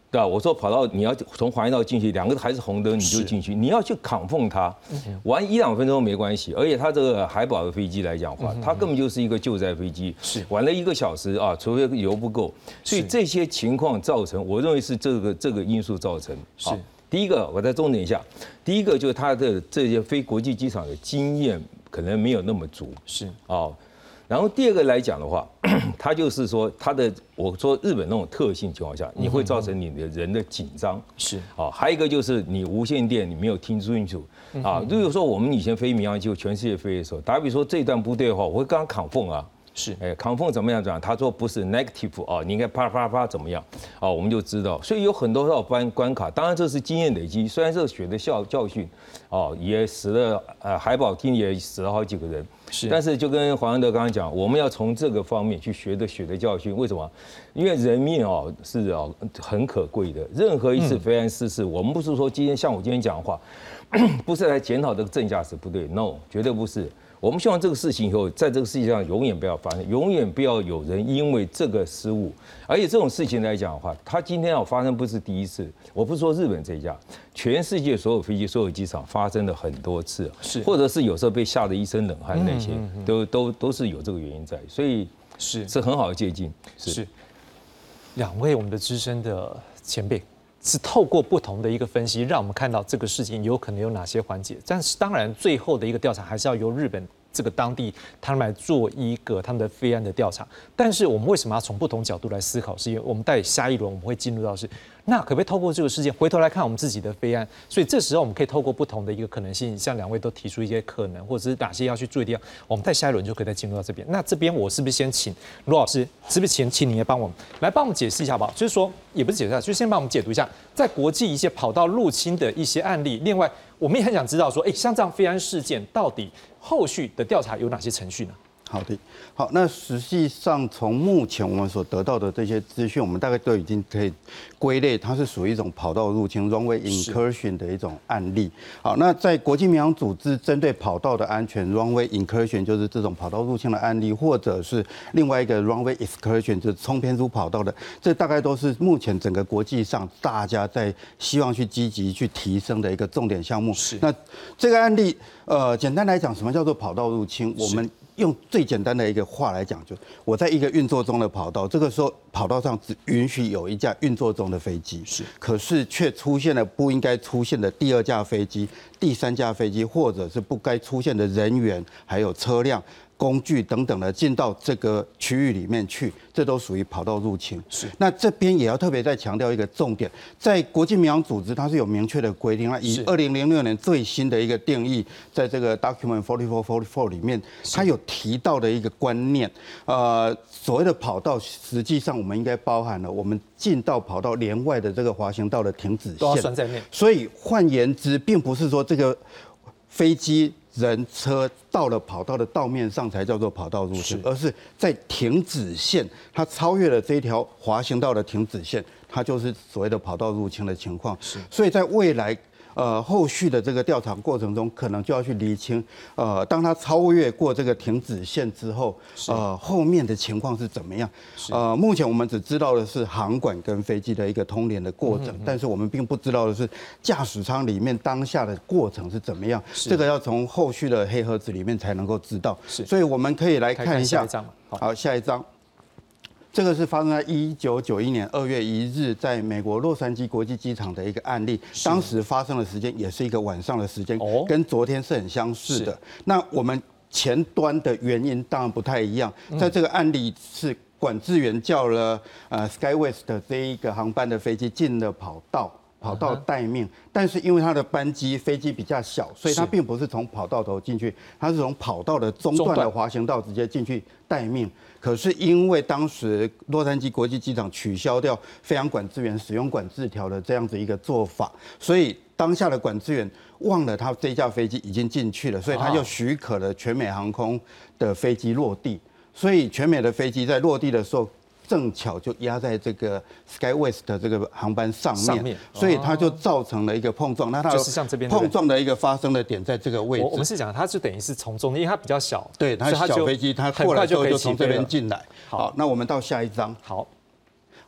对吧？我说跑道你要从黄线道进去，两个还是红灯你就进去，你要去扛缝它，玩一两分钟没关系。而且它这个海保的飞机来讲话，它根本就是一个救灾飞机， 是玩了一个小时啊，除非油不够，所以这些情况造成，我认为是这个这个因素造成。 是第一个，我再重点一下，第一个就是它的这些非国际机场的经验可能没有那么足， 是哦。然后第二个来讲的话，它就是说它的，我说日本那种特性情况下，你会造成你的人的紧张， 是啊，还有一个就是你无线电你没有听清楚啊。如果说我们以前飞民航机全世界飞的时候，打比说这一段部队的话，我会跟他扛缝啊。 是， 哎，扛缝怎么样讲？他说不是 negative 啊，你应该啪啪啪怎么样啊？我们就知道，所以有很多道关关卡。当然这是经验累积，虽然这个血的教教训，哦，也死了呃海保厅也死了好几个人， 是。 但是就跟黄安德刚刚讲，我们要从这个方面去学的血的教训。为什么？因为人命哦是哦很可贵的，任何一次飞安失事，我们不是说今天像我今天讲的话，不是来检讨这个正驾驶不对 ，no， 绝对不是。我们希望这个事情以后，在这个世界上永远不要发生，永远不要有人因为这个失误，而且这种事情来讲的话，它今天要发生不是第一次，我不是说日本这一家，全世界所有飞机、所有机场发生了很多次， 是， 或者是有时候被吓得一身冷汗那些，都都都是有这个原因在，所以是是很好的借鉴。 是，两位我们的资深的前辈。是透过不同的一个分析，让我们看到这个事情有可能有哪些环节。但是当然，最后的一个调查还是要由日本这个当地他们来做一个他们的飞安的调查。但是我们为什么要从不同角度来思考？是因为我们在下一轮我们会进入到是，那可不可以透过这个事件回头来看我们自己的飞安？所以这时候我们可以透过不同的一个可能性，像两位都提出一些可能，或者是哪些要去注意的地方，我们在下一轮就可以再进入到这边。那这边我是不是先请罗老师，是不是请请你来帮我们来帮我们解释一下好不好？就是说，也不是解释一下，就先帮我们解读一下，在国际一些跑道入侵的一些案例。另外，我们也很想知道说，哎，像这样飞安事件到底后续的调查有哪些程序呢？ 好的，好，那实际上从目前我们所得到的这些资讯，我们大概都已经可以归类，它是属于一种跑道入侵 （runway incursion） 的一种案例。好，那在国际民航组织针对跑道的安全 （runway incursion） 就是这种跑道入侵的案例，或者是另外一个 runway excursion 就是冲偏出跑道的，这大概都是目前整个国际上大家在希望去积极去提升的一个重点项目。 是， 那这个案例，呃，简单来讲，什么叫做跑道入侵？我们用最简单的一个话来讲，就我在一个运作中的跑道，这个时候跑道上只允许有一架运作中的飞机， 是， 可是却出现了不应该出现的第二架飞机、第三架飞机，或者是不该出现的人员，还有车辆、工具等等的进到这个区域里面去，这都属于跑道入侵。 是， 那这边也要特别再强调一个重点，在国际民航组织它是有明确的规定，那以二零零六年最新的一个定义，在这个 document forty four forty four 里面，它有提到的一个观念，呃，所谓的跑道，实际上我们应该包含了我们进到跑道连外的这个滑行道的停止线， 都要算在内。 所以换言之，并不是说这个飞机、人车到了跑道的道面上才叫做跑道入侵，而是在停止线，它超越了这一条滑行道的停止线，它就是所谓的跑道入侵的情况。 是， 所以在未来。呃，后续的这个调查过程中，可能就要去厘清，呃，当它超越过这个停止线之后，呃，后面的情况是怎么样？呃，目前我们只知道的是航管跟飞机的一个通联的过程，嗯嗯但是我们并不知道的是驾驶舱里面当下的过程是怎么样。这个要从后续的黑盒子里面才能够知道。 是， 所以我们可以来看一下。 看下一好， 好，下一张。这个是发生在一九九一年二月一日，在美国洛杉矶国际机场的一个案例。当时发生的时间也是一个晚上的时间，哦、跟昨天是很相似的。那我们前端的原因当然不太一样，在这个案例是管制员叫了呃 SkyWest 的这一个航班的飞机进了跑道。跑道待命，但是因为它的班机飞机比较小，所以它并不是从跑道头进去，它是从跑道的中段的滑行道直接进去待命。可是因为当时洛杉矶国际机场取消掉飞航管制员使用管制条的这样子一个做法，所以当下的管制员忘了他这架飞机已经进去了，所以他就许可了全美航空的飞机落地。所以全美的飞机在落地的时候，正巧就压在这个 SkyWest 的这个航班上面，上面所以它就造成了一个碰撞。那它就是像这边碰撞的一个发生的点在这个位置。 我们是讲它就等于是从中间，因为它比较小， 对，它小飞机，它过来之后就从这边进来。好，那我们到下一张。 好。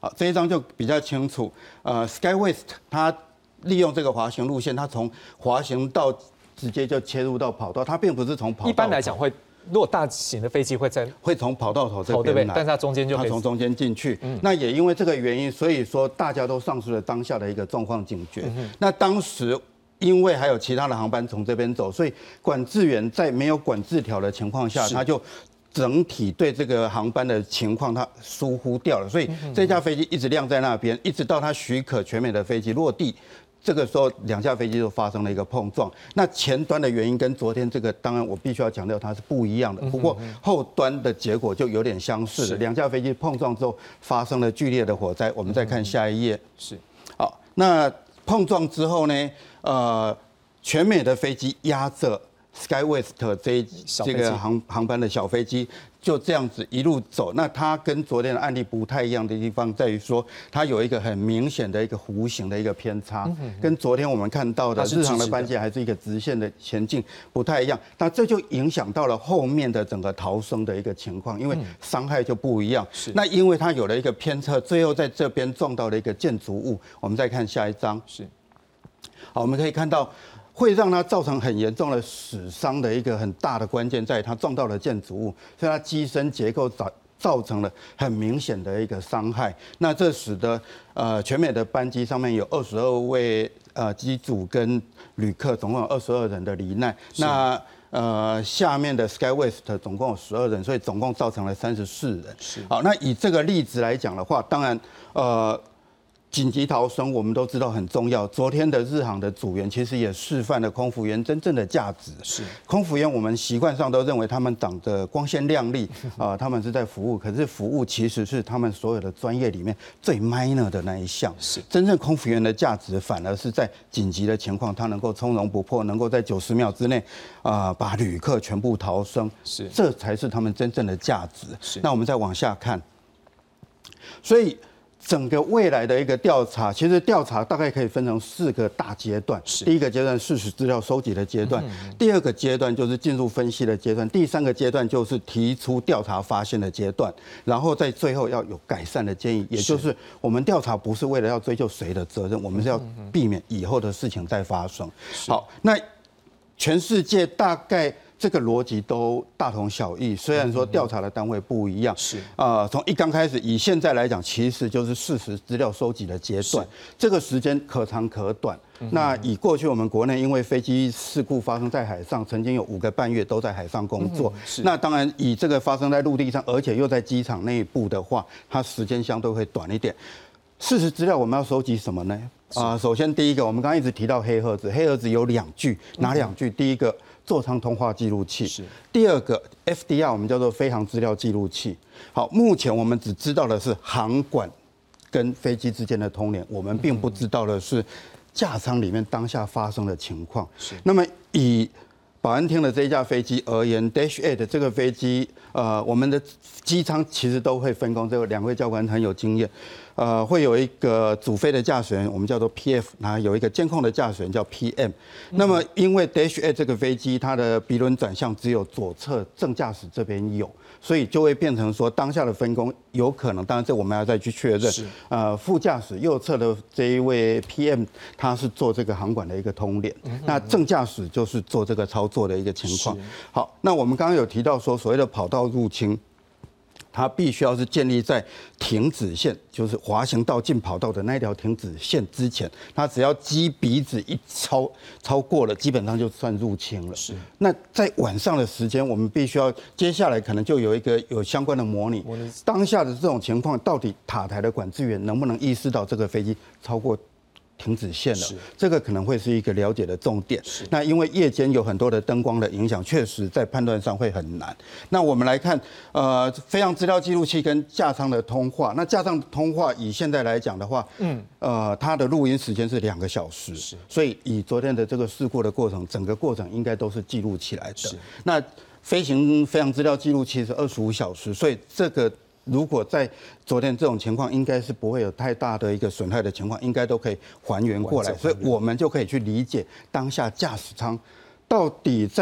好，这一张就比较清楚。呃 ，SkyWest 它利用这个滑行路线，它从滑行道直接就切入到跑道，它并不是从跑道。 一般来讲会。如果大型的飞机会在会从跑道头这边来， 对不对？但是它中间就可以它从中间进去。嗯、那也因为这个原因，所以说大家都丧失了当下的一个状况警觉。嗯、那当时因为还有其他的航班从这边走，所以管制员在没有管制条的情况下，他就整体对这个航班的情况他疏忽掉了，所以这架飞机一直晾在那边，一直到它许可全美的飞机落地。这个时候，两架飞机就发生了一个碰撞。那前端的原因跟昨天这个，当然我必须要强调它是不一样的。不过后端的结果就有点相似了。两架飞机碰撞之后发生了剧烈的火灾。我们再看下一页。 是。 好，那碰撞之后呢？呃，全美的飞机压着 SkyWest 这一这个航航班的小飞机。就这样子一路走，那它跟昨天的案例不太一样的地方在于说，它有一个很明显的一个弧形的一个偏差，跟昨天我们看到的日常的班机还是一个直线的前进不太一样。那这就影响到了后面的整个逃生的一个情况，因为伤害就不一样。那因为它有了一个偏侧，最后在这边撞到了一个建筑物。我们再看下一张， 是， 好，我们可以看到。会让它造成很严重的死伤的一个很大的关键，在于它撞到了建筑物，所以它机身结构造造成了很明显的一个伤害。那这使得呃全美的班机上面有二十二位呃机组跟旅客，总共有二十二人的罹难。那呃下面的 SkyWest 总共有十二人，所以总共造成了三十四人。 是。 好，那以这个例子来讲的话，当然呃。紧急逃生，我们都知道很重要。昨天的日航的组员其实也示范了空服员真正的价值。 是， 空服员我们习惯上都认为他们长得光鲜亮丽啊、呃，他们是在服务。可是服务其实是他们所有的专业里面最 minor 的那一项。 是， 真正空服员的价值反而是在紧急的情况，他能够从容不迫，能够在九十秒之内啊、呃、把旅客全部逃生。 是， 这才是他们真正的价值。 是，那我们再往下看，所以。整个未来的一个调查，其实调查大概可以分成四个大阶段。第一个阶段事实资料收集的阶段，嗯、第二个阶段就是进入分析的阶段，第三个阶段就是提出调查发现的阶段，然后在最后要有改善的建议。也就是我们调查不是为了要追究谁的责任，我们是要避免以后的事情再发生。好，那全世界大概。这个逻辑都大同小异，虽然说调查的单位不一样， 是啊，从一刚开始，以现在来讲，其实就是事实资料收集的阶段，这个时间可长可短。那以过去我们国内因为飞机事故发生在海上，曾经有五个半月都在海上工作。那当然以这个发生在陆地上，而且又在机场内部的话，它时间相对会短一点。事实资料我们要收集什么呢？啊，首先第一个，我们刚刚一直提到黑盒子，黑盒子有两句，哪两句？第一个。座舱通话记录器是第二个 F D R， 我们叫做飞行资料记录器。好，目前我们只知道的是航管跟飞机之间的通联，我们并不知道的是架舱里面当下发生的情况。是，那么以保安厅的这一架飞机而言 ，Dash eight 这个飞机，呃，我们的机舱其实都会分工，这个两位教官很有经验。呃，会有一个主飞的驾驶员，我们叫做 P F， 然后有一个监控的驾驶员叫 P M。那么，因为 Dash eight 这个飞机，它的鼻轮转向只有左侧正驾驶这边有，所以就会变成说，当下的分工有可能，当然这我们要再去确认。呃，副驾驶右侧的这一位 P M， 他是做这个航管的一个通联，嗯、那正驾驶就是做这个操作的一个情况。好，那我们刚刚有提到说，所谓的跑道入侵。它必须要是建立在停止线，就是滑行道进跑道的那条停止线之前，它只要机鼻子一超超过了，基本上就算入侵了。是。那在晚上的时间，我们必须要接下来可能就有一个有相关的模拟，当下的这种情况，到底塔台的管制员能不能意识到这个飞机超过停止线了？这个可能会是一个了解的重点。那因为夜间有很多的灯光的影响，确实在判断上会很难。那我们来看，呃，飞行资料记录器跟架舱的通话。那架舱通话以现在来讲的话，嗯，呃，它的录音时间是两个小时，所以以昨天的这个事故的过程，整个过程应该都是记录起来的。那飞行飞行资料记录器是二十五小时，所以这个。如果在昨天这种情况，应该是不会有太大的一个损害的情况，应该都可以还原过来，所以我们就可以去理解当下驾驶舱到底在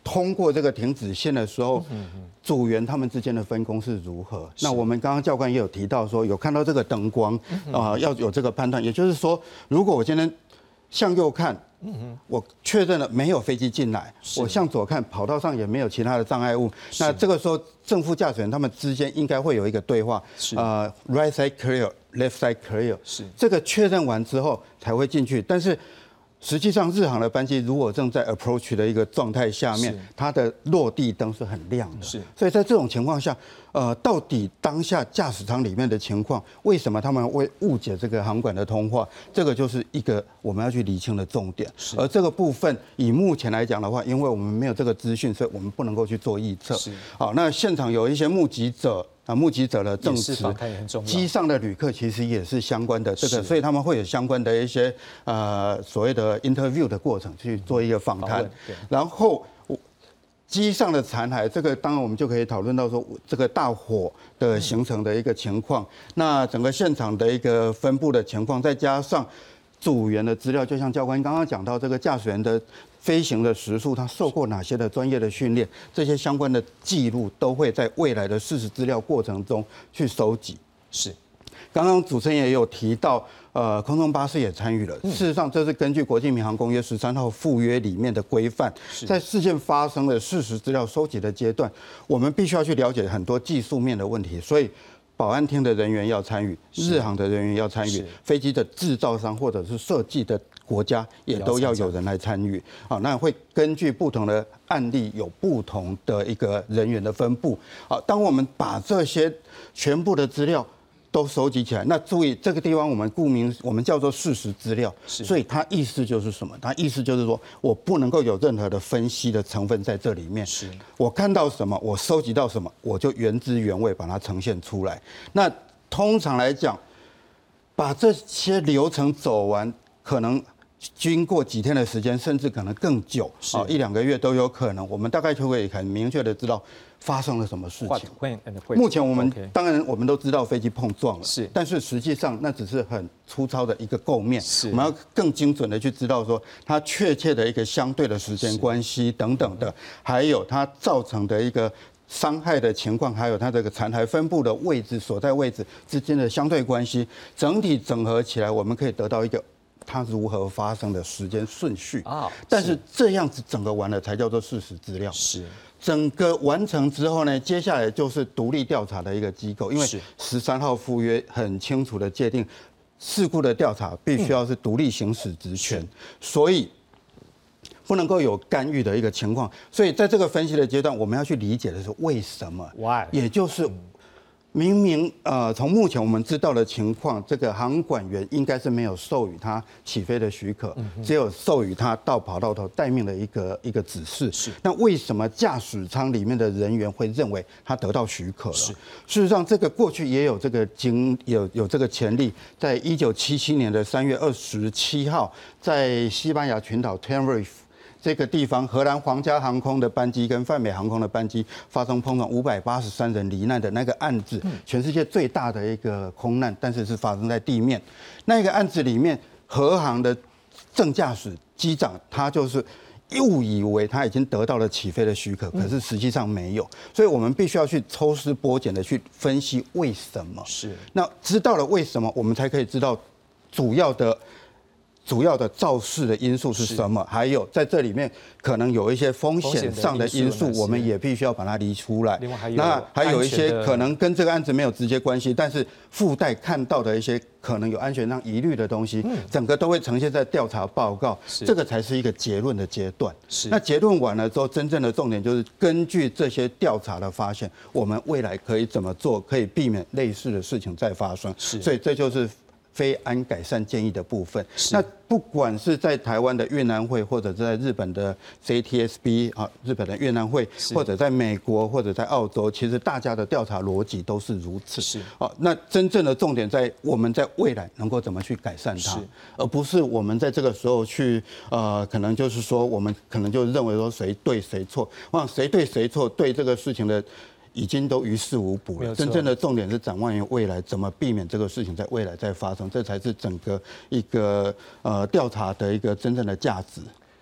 通过这个停止线的时候，组员他们之间的分工是如何？那我们刚刚教官也有提到说，有看到这个灯光啊、呃，要有这个判断。也就是说，如果我今天向右看，我确认了没有飞机进来，我向左看，跑道上也没有其他的障碍物，那这个时候正副驾驶员他们之间应该会有一个对话，呃 ，right side clear，left side clear， 是这个确认完之后才会进去，但是。实际上，日航的班机如果正在 approach 的一个状态下面，它的落地灯是很亮的。是，所以在这种情况下，呃，到底当下驾驶舱里面的情况，为什么他们会误解这个航管的通话？这个就是一个我们要去厘清的重点。而这个部分，以目前来讲的话，因为我们没有这个资讯，所以我们不能够去做预测。是，好，那现场有一些目击者。啊，目击者的证词，机上的旅客其实也是相关的这个，所以他们会有相关的一些呃所谓的 interview 的过程去做一个访谈，然后机上的残骸，这个当然我们就可以讨论到说这个大火的形成的一个情况，那整个现场的一个分布的情况，再加上组员的资料，就像教官刚刚讲到这个驾驶员的。飞行的时速，他受过哪些的专业的训练，这些相关的记录都会在未来的事实资料过程中去收集。是，刚刚主持人也有提到，呃，空中巴士也参与了。事实上，这是根据国际民航公约十三号附约里面的规范，在事件发生的事实资料收集的阶段，我们必须要去了解很多技术面的问题，所以。保安厅的人员要参与，日航的人员要参与，飞机的制造商或者是设计的国家也都要有人来参与。好，那会根据不同的案例有不同的一个人员的分布。好，当我们把这些全部的资料都收集起来，那注意这个地方我们顾名我们叫做事实资料，所以它意思就是什么？它意思就是说我不能够有任何的分析的成分在这里面。是，我看到什么，我收集到什么，我就原汁原味把它呈现出来。那通常来讲，把这些流程走完，可能经过几天的时间，甚至可能更久，啊，一两个月都有可能。我们大概就会很明确的知道。发生了什么事情？目前我们当然我们都知道飞机碰撞了，是，但是实际上那只是很粗糙的一个构面，是，我们要更精准的去知道说它确切的一个相对的时间关系等等的，还有它造成的一个伤害的情况，还有它这个残骸分布的位置所在位置之间的相对关系，整体整合起来，我们可以得到一个。它如何发生的时间顺序啊？但是这样子整个完了才叫做事实资料。是，整个完成之后呢，接下来就是独立调查的一个机构，因为十三号附约很清楚的界定，事故的调查必须要是独立行使职权，所以不能够有干预的一个情况。所以在这个分析的阶段，我们要去理解的是为什么 ，why， 也就是。明明呃，从目前我们知道的情况，这个航管员应该是没有授予他起飞的许可，只有授予他到跑道头待命的一个一个指示。是，那为什么驾驶舱里面的人员会认为他得到许可了？是，事实上这个过去也有这个经有有这个前例，在一九七七年的三月二十七号，在西班牙群岛 Tenerife。这个地方，荷兰皇家航空的班机跟泛美航空的班机发生碰撞，五百八十三人罹难的那个案子，全世界最大的一个空难，但是是发生在地面。那个案子里面，荷航的正驾驶机长他就是误以为他已经得到了起飞的许可，可是实际上没有。所以我们必须要去抽丝剥茧的去分析为什么。是，那知道了为什么，我们才可以知道主要的。主要的肇事的因素是什么？还有在这里面可能有一些风险上的因素，我们也必须要把它理出来。另外还有那还有一些可能跟这个案子没有直接关系，但是附带看到的一些可能有安全上疑虑的东西，整个都会呈现在调查报告。这个才是一个结论的阶段。那结论完了之后，真正的重点就是根据这些调查的发现，我们未来可以怎么做，可以避免类似的事情再发生。所以这就是。飞安改善建议的部分，那不管是在台湾的越南会，或者是在日本的 J T S B 啊，日本的越南会，或者在美国或者在澳洲，其实大家的调查逻辑都是如此。是啊，那真正的重点在我们在未来能够怎么去改善它，而不是我们在这个时候去呃，可能就是说我们可能就认为说谁对谁错，哇，谁对谁错，对这个事情的。已经都于事无补了。真正的重点是展望于未来，怎么避免这个事情在未来再发生，这才是整个一个呃调查的一个真正的价值。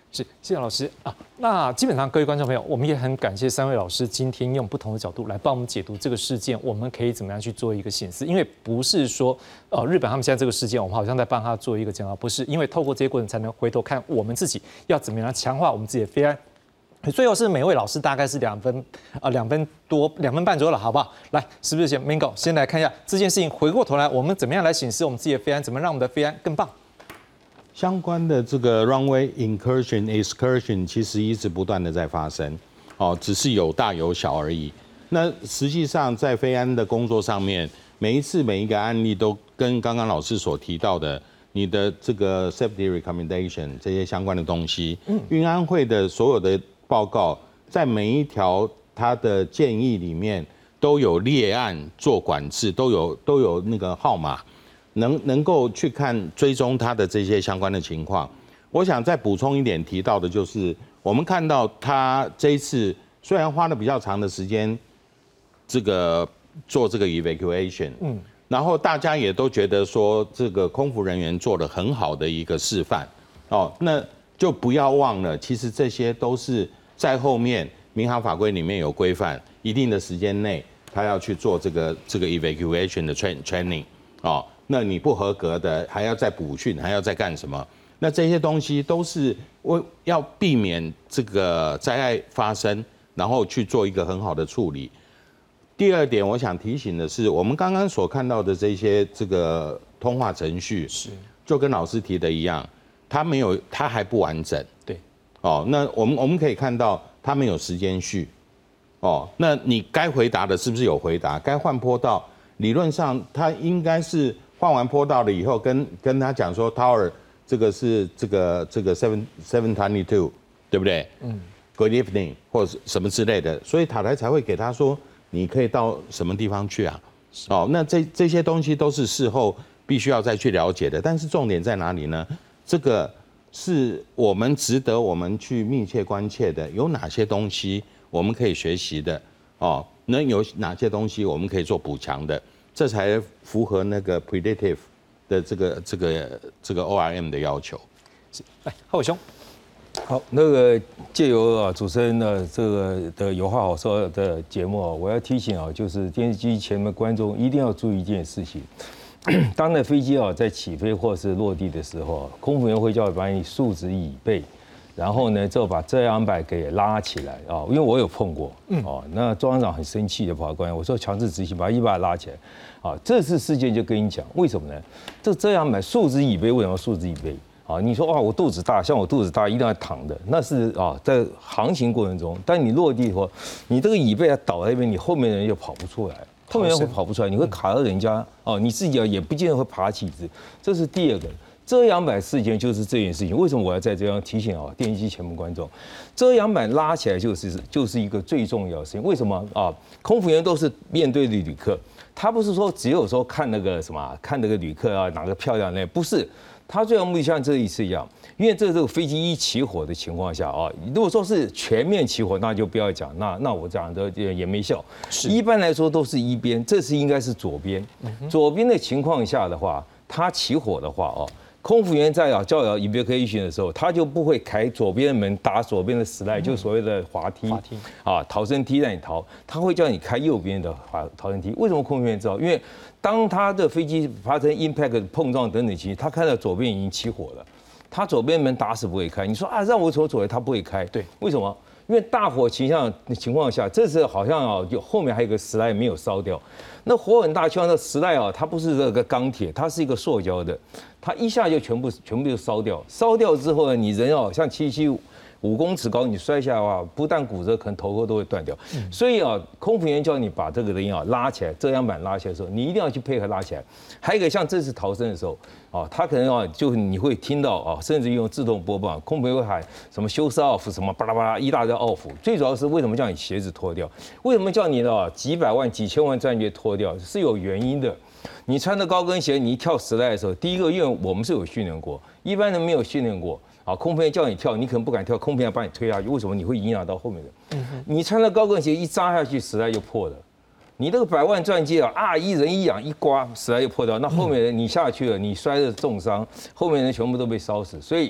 是，谢谢老师啊。那基本上各位观众朋友，我们也很感谢三位老师今天用不同的角度来帮我们解读这个事件，我们可以怎么样去做一个省思？因为不是说呃日本他们现在这个事件，我们好像在帮他做一个检讨，不是，因为透过这些过程才能回头看我们自己要怎么样强化我们自己的非安。最后是每位老师大概是两分啊两分多两分半左右了，好不好？来，是不是先 Mingo 先来看一下这件事情，回过头来我们怎么样来审视我们自己的飞安，怎么让我们的飞安更棒？ 相关的这个 runway incursion excursion 其实一直不断的在发生，哦，只是有大有小而已。那实际上在飞安的工作上面，每一次每一个案例都跟刚刚老师所提到的，你的这个 safety recommendation 这些相关的东西，嗯，运安会的所有的报告，在每一条它的建议里面都有列案做管制，都有都有那个号码。能能够去看追踪它的这些相关的情况，我想再补充一点提到的就是，我们看到他这一次虽然花了比较长的时间，这个做这个 evacuation， 嗯，然后大家也都觉得说这个空服人员做了很好的一个示范，哦，那就不要忘了，其实这些都是在后面民航法规里面有规范，一定的时间内他要去做这个这个 evacuation 的 train training， 哦。那你不合格的，还要再补训，还要再干什么？那这些东西都是为要避免这个灾害发生，然后去做一个很好的处理。第二点，我想提醒的是，我们刚刚所看到的这些这个通话程序，是就跟老师提的一样，它没有，它还不完整。对，哦，那我们我们可以看到，它没有时间序。哦，那你该回答的是不是有回答？该换坡道，理论上它应该是。换完坡道了以后，跟跟他讲说 ，Tower 这个是这个这个 seven seven twenty two， 对不对？嗯 ，Good evening 或者什么之类的，所以塔台才会给他说，你可以到什么地方去啊？哦，那这这些东西都是事后必须要再去了解的。但是重点在哪里呢？这个是我们值得我们去密切关切的，有哪些东西我们可以学习的？哦，能有哪些东西我们可以做补强的？这才符合那个 predictive 的这个这个这个 O R M 的要求。 来，浩伟兄， 好，那个借由啊主持人的这个的有话好说的节目啊，我要提醒啊，就是电视机前面观众一定要注意一件事情：当那飞机啊在起飞或是落地的时候，空服员会叫你把你竖直椅背。然后呢，就把遮阳板给拉起来啊，因为我有碰过，哦，那中央长很生气的跑过来，我说强制执行，把一把拉起来，啊，这次事件就跟你讲，为什么呢？这遮阳板竖直椅背，为什么竖直椅背？啊，你说哇，我肚子大，像我肚子大一定要躺的，那是啊，在航行过程中，但你落地以后，你这个椅背要倒在那边，你后面的人就跑不出来，后面人会跑不出来，你会卡到人家，哦，你自己也不见得会爬起子，这是第二个。遮阳板事件就是这件事情，为什么我要在这样提醒啊？电视机前面观众，遮阳板拉起来就是就是一个最重要的事情。为什么啊？空服员都是面对旅客，他不是说只有说看那个什么，看那个旅客啊哪个漂亮那，不是。他最后目的像这一次一样，因为这这个飞机一起火的情况下啊，如果说是全面起火，那就不要讲，那那我讲的也没效。一般来说都是一边，这次应该是左边。左边的情况下的话，它起火的话哦。空服员在啊叫摇 evacuation 的时候，他就不会开左边的门打左边的slide，就所谓的滑梯，滑梯啊逃生梯让你逃，他会叫你开右边的滑逃生梯。为什么空服员知道？因为当他的飞机发生 impact 碰撞等等期，他看到左边已经起火了，他左边门打死不会开。你说啊，让我走左边，他不会开。对，为什么？因为大火倾向的情况下，这时好像啊，有后面还有一个slide没有烧掉。那火很大，就像那slide啊，它不是这个钢铁，它是一个塑胶的，它一下就全部全部就烧掉。烧掉之后呢，你人哦，像七七五公尺高，你摔下来的话，不但骨折，可能头壳都会断掉。嗯、所以啊，空服员叫你把这个人啊拉起来，遮阳板拉起来的时候，你一定要去配合拉起来。还有一个像这次逃生的时候，啊，他可能啊，就你会听到啊，甚至用自动播报，空服员会喊什么休斯 off 什么巴拉巴拉一大堆 off。最主要是为什么叫你鞋子脱掉？为什么叫你的几百万、几千万战机脱掉？是有原因的。你穿着高跟鞋，你一跳时代的时候，第一个，因为我们是有训练过，一般人没有训练过。啊，空服员叫你跳，你可能不敢跳，空服员把你推下去，为什么？你会影响到后面的。嗯、你穿着高跟鞋一扎下去，时代就破了。你那个百万钻戒啊，啊，一人一仰一刮，时代就破掉。那后面人你下去了，你摔的重伤，后面人全部都被烧死。所以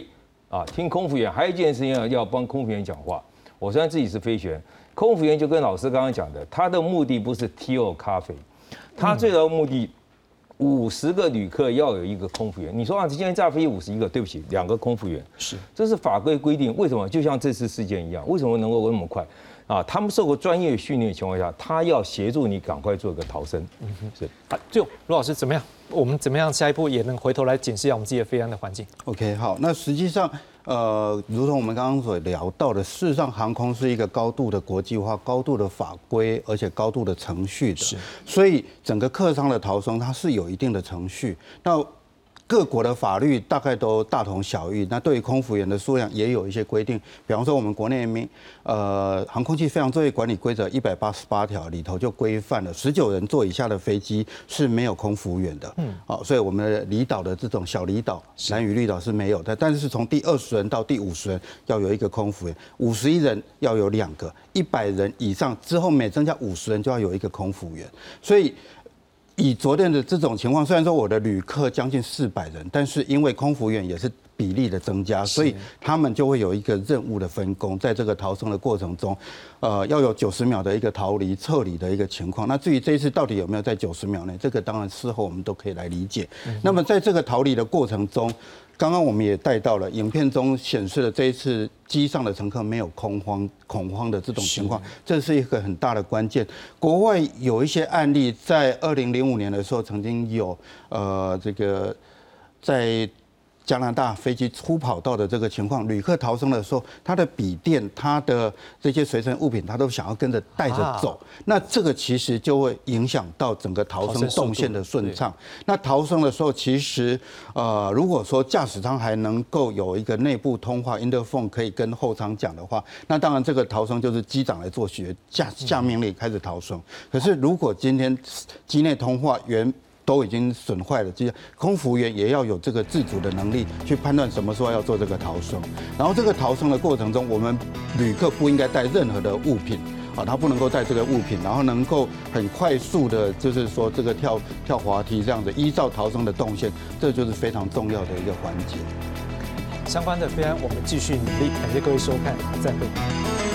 啊，听空服员。还有一件事情要要帮空服员讲话。我虽然自己是飞行员，空服员就跟老师刚刚讲的，他的目的不是 tea 咖啡，他最大的目的。五十个旅客要有一个空服员，你说啊，今天架飞机五十一个，对不起，两个空服员， 是， 这是法规规定。为什么？就像这次事件一样，为什么能够那么快？啊，他们受过专业训练的情况下，他要协助你赶快做个逃生。嗯哼，是。 好，最后罗老师怎么样？我们怎么样下一步也能回头来检视一下我们自己的飞安的环境 ？OK， 好，那实际上。呃，如同我们刚刚所聊到的，事实上航空是一个高度的国际化、高度的法规，而且高度的程序的，是。所以整个客舱的逃生它是有一定的程序。那各国的法律大概都大同小异，那对于空服员的数量也有一些规定。比方说，我们国内民呃航空器飞行作业管理规则一百八十八条里头就规范了，十九人座以下的飞机是没有空服员的。嗯，好，所以我们的离岛的这种小离岛、兰屿绿岛是没有的，但是从第二十人到第五十人要有一个空服员，五十一人要有两个，一百人以上之后每增加五十人就要有一个空服员，所以。以昨天的这种情况，虽然说我的旅客将近四百人，但是因为空服员也是比例的增加，所以他们就会有一个任务的分工，在这个逃生的过程中，呃，要有九十秒的一个逃离、撤离的一个情况。那至于这一次到底有没有在九十秒内，这个当然事后我们都可以来理解。那么在这个逃离的过程中，刚刚我们也带到了，影片中显示了这一次机上的乘客没有恐慌、恐慌的这种情况，这是一个很大的关键。国外有一些案例，在二零零五年的时候，曾经有呃这个在加拿大飞机出跑道的这个情况，旅客逃生的时候，他的笔电、他的这些随身物品，他都想要跟着带着走，啊、那这个其实就会影响到整个逃生动线的顺畅。那逃生的时候，其实呃，如果说驾驶舱还能够有一个内部通话 interphone 可以跟后舱讲的话，那当然这个逃生就是机长来做学下下命令开始逃生。可是如果今天机内通话原都已经损坏了，其实空服员也要有这个自主的能力去判断什么时候要做这个逃生。然后这个逃生的过程中，我们旅客不应该带任何的物品啊，他不能够带这个物品，然后能够很快速的，就是说这个跳跳滑梯这样子，依照逃生的动线，这就是非常重要的一个环节。 相关的飞安，我们继续努力。感谢各位收看，再会。